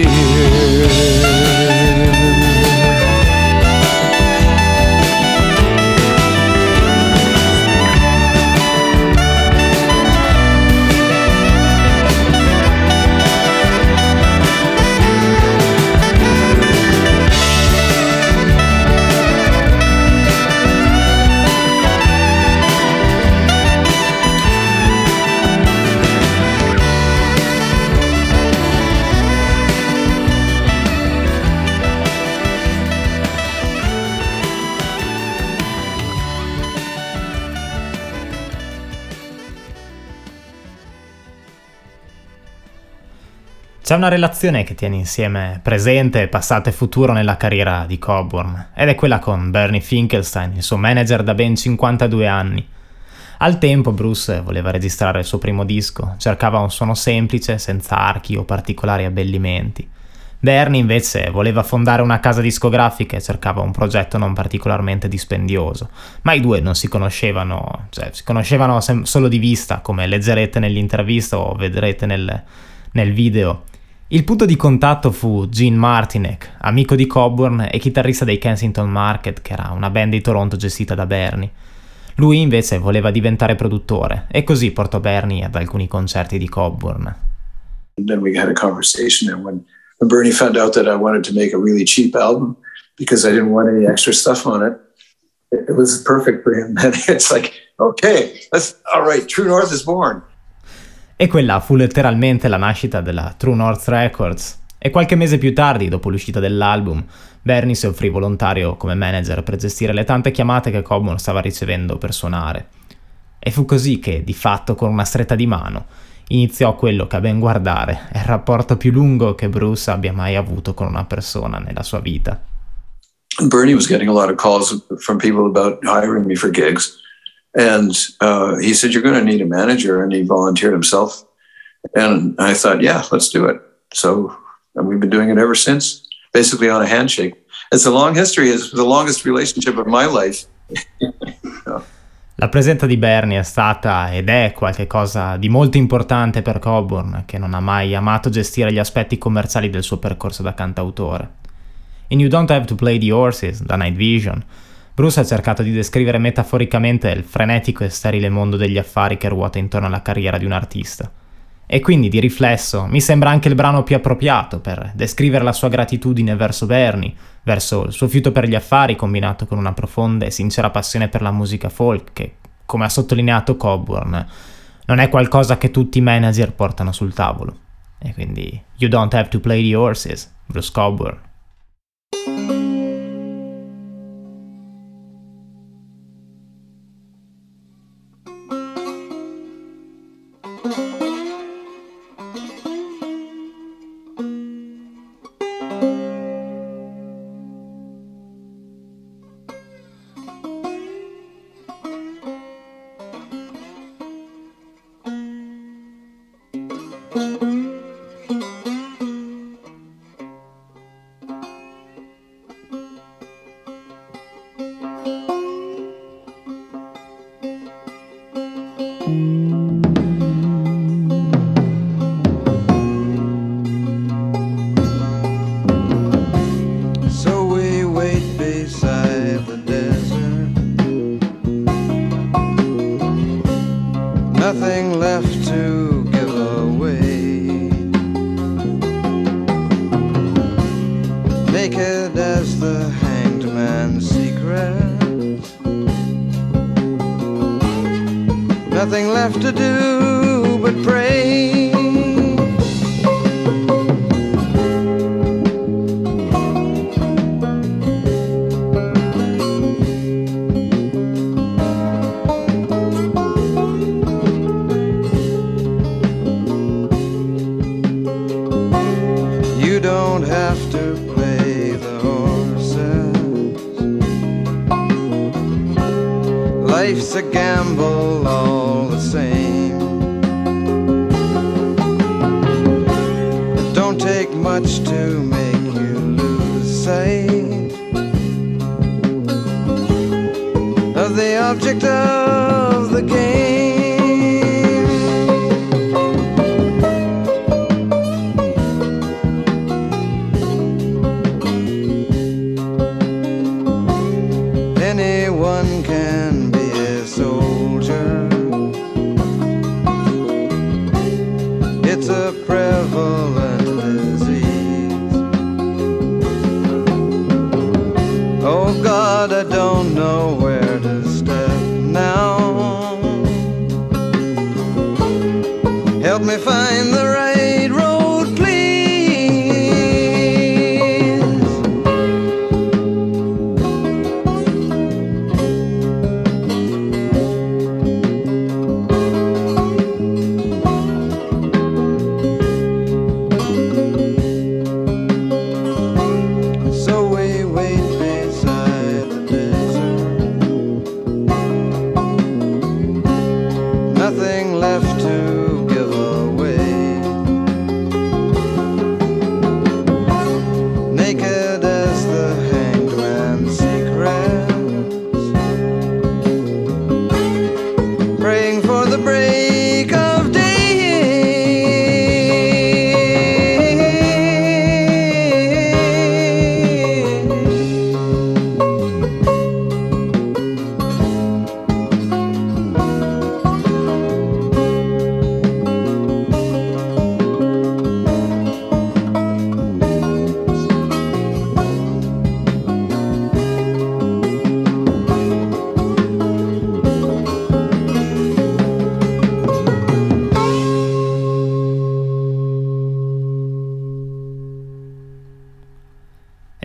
Speaker 2: C'è una relazione che tiene insieme presente, passato e futuro nella carriera di Coburn, ed è quella con Bernie Finkelstein, il suo manager da ben 52 anni. Al tempo Bruce voleva registrare il suo primo disco, cercava un suono semplice, senza archi o particolari abbellimenti. Bernie invece voleva fondare una casa discografica e cercava un progetto non particolarmente dispendioso, ma i due non si conoscevano, si conoscevano solo di vista, come leggerete nell'intervista o vedrete nel video. Il punto di contatto fu Gene Martinek, amico di Coburn e chitarrista dei Kensington Market, che era una band di Toronto gestita da Bernie. Lui invece voleva diventare produttore e così portò Bernie ad alcuni concerti di Coburn.
Speaker 3: And then we had a conversation, and when Bernie found out that I wanted to make a really cheap album because I didn't want any extra stuff on it, it was perfect for him. And it's like, okay, all right, True North is born.
Speaker 2: E quella fu letteralmente la nascita della True North Records. E qualche mese più tardi, dopo l'uscita dell'album, Bernie si offrì volontario come manager per gestire le tante chiamate che Coburn stava ricevendo per suonare. E fu così che, di fatto, con una stretta di mano, iniziò quello che a ben guardare è il rapporto più lungo che Bruce abbia mai avuto con una persona nella sua vita.
Speaker 3: Bernie was getting a lot of calls from people about hiring me for gigs. And he said, you're going to need a manager. And he volunteered himself. And I thought, yeah, let's do it. So and we've been doing it ever since, basically on a handshake. It's a long history. It's the longest relationship of my life.
Speaker 2: La presenza di Bernie è stata ed è qualcosa di molto importante per Coburn, che non ha mai amato gestire gli aspetti commerciali del suo percorso da cantautore. In You Don't Have to Play the Horses, da Night Vision, Bruce ha cercato di descrivere metaforicamente il frenetico e sterile mondo degli affari che ruota intorno alla carriera di un artista. E quindi, di riflesso, mi sembra anche il brano più appropriato per descrivere la sua gratitudine verso Bernie, verso il suo fiuto per gli affari combinato con una profonda e sincera passione per la musica folk che, come ha sottolineato Coburn, non è qualcosa che tutti i manager portano sul tavolo. E quindi, You Don't Have to Play the Horses, Bruce Coburn.
Speaker 1: Nothing left to give away. Naked as the hanged man's secret. Nothing left to do but pray. You don't have to play the horses. Life's a gamble all the same. It don't take much to make you lose sight of the object of the game. Anyone can be a soldier. It's a prevalent disease. Oh God, I don't know where to step now. Help me find the right road, please.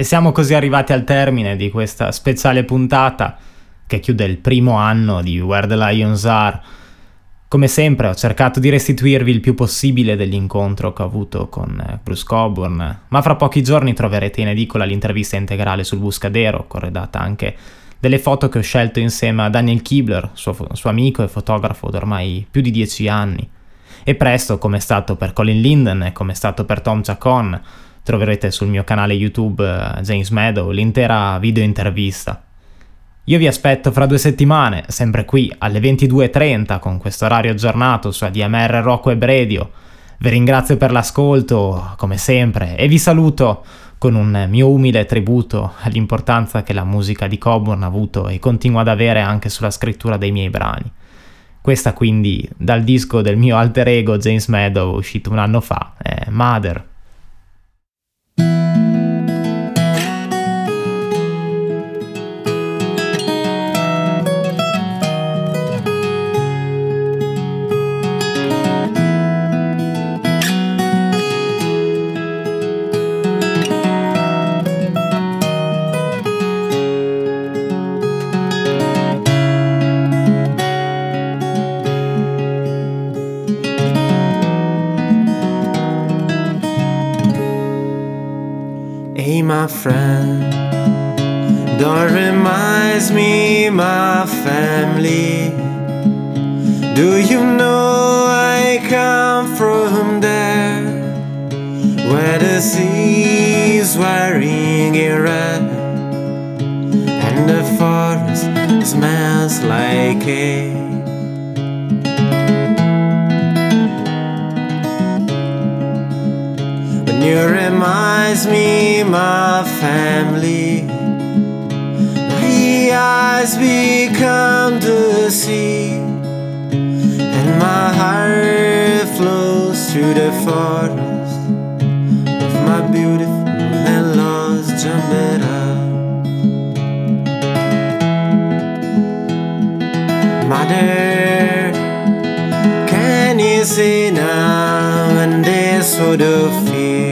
Speaker 2: E siamo così arrivati al termine di questa speciale puntata che chiude il primo anno di Where the Lions Are. Come sempre ho cercato di restituirvi il più possibile dell'incontro che ho avuto con Bruce Cockburn, ma fra pochi giorni troverete in edicola l'intervista integrale sul Buscadero, corredata anche delle foto che ho scelto insieme a Daniel Kibler, suo amico e fotografo da ormai più di 10 anni. E presto, come è stato per Colin Linden e come è stato per Tom Chacon, troverete sul mio canale YouTube James Meadow l'intera video intervista. Io vi aspetto fra 2 settimane, sempre qui alle 22:30 con questo orario aggiornato su ADMR Rock Web Radio. Vi ringrazio per l'ascolto, come sempre, e vi saluto con un mio umile tributo all'importanza che la musica di Cockburn ha avuto e continua ad avere anche sulla scrittura dei miei brani. Questa quindi dal disco del mio alter ego James Meadow, uscito un anno fa, è Mother.
Speaker 1: Hey, my friend, don't remind me my family. Do you know I come from there, where the sea is wearing a red and the forest smells like hay. You reminds me my family. My eyes become the sea, and my heart flows through the forest of my beautiful and lost Jambera. Mother, can you see now and this sort of fear?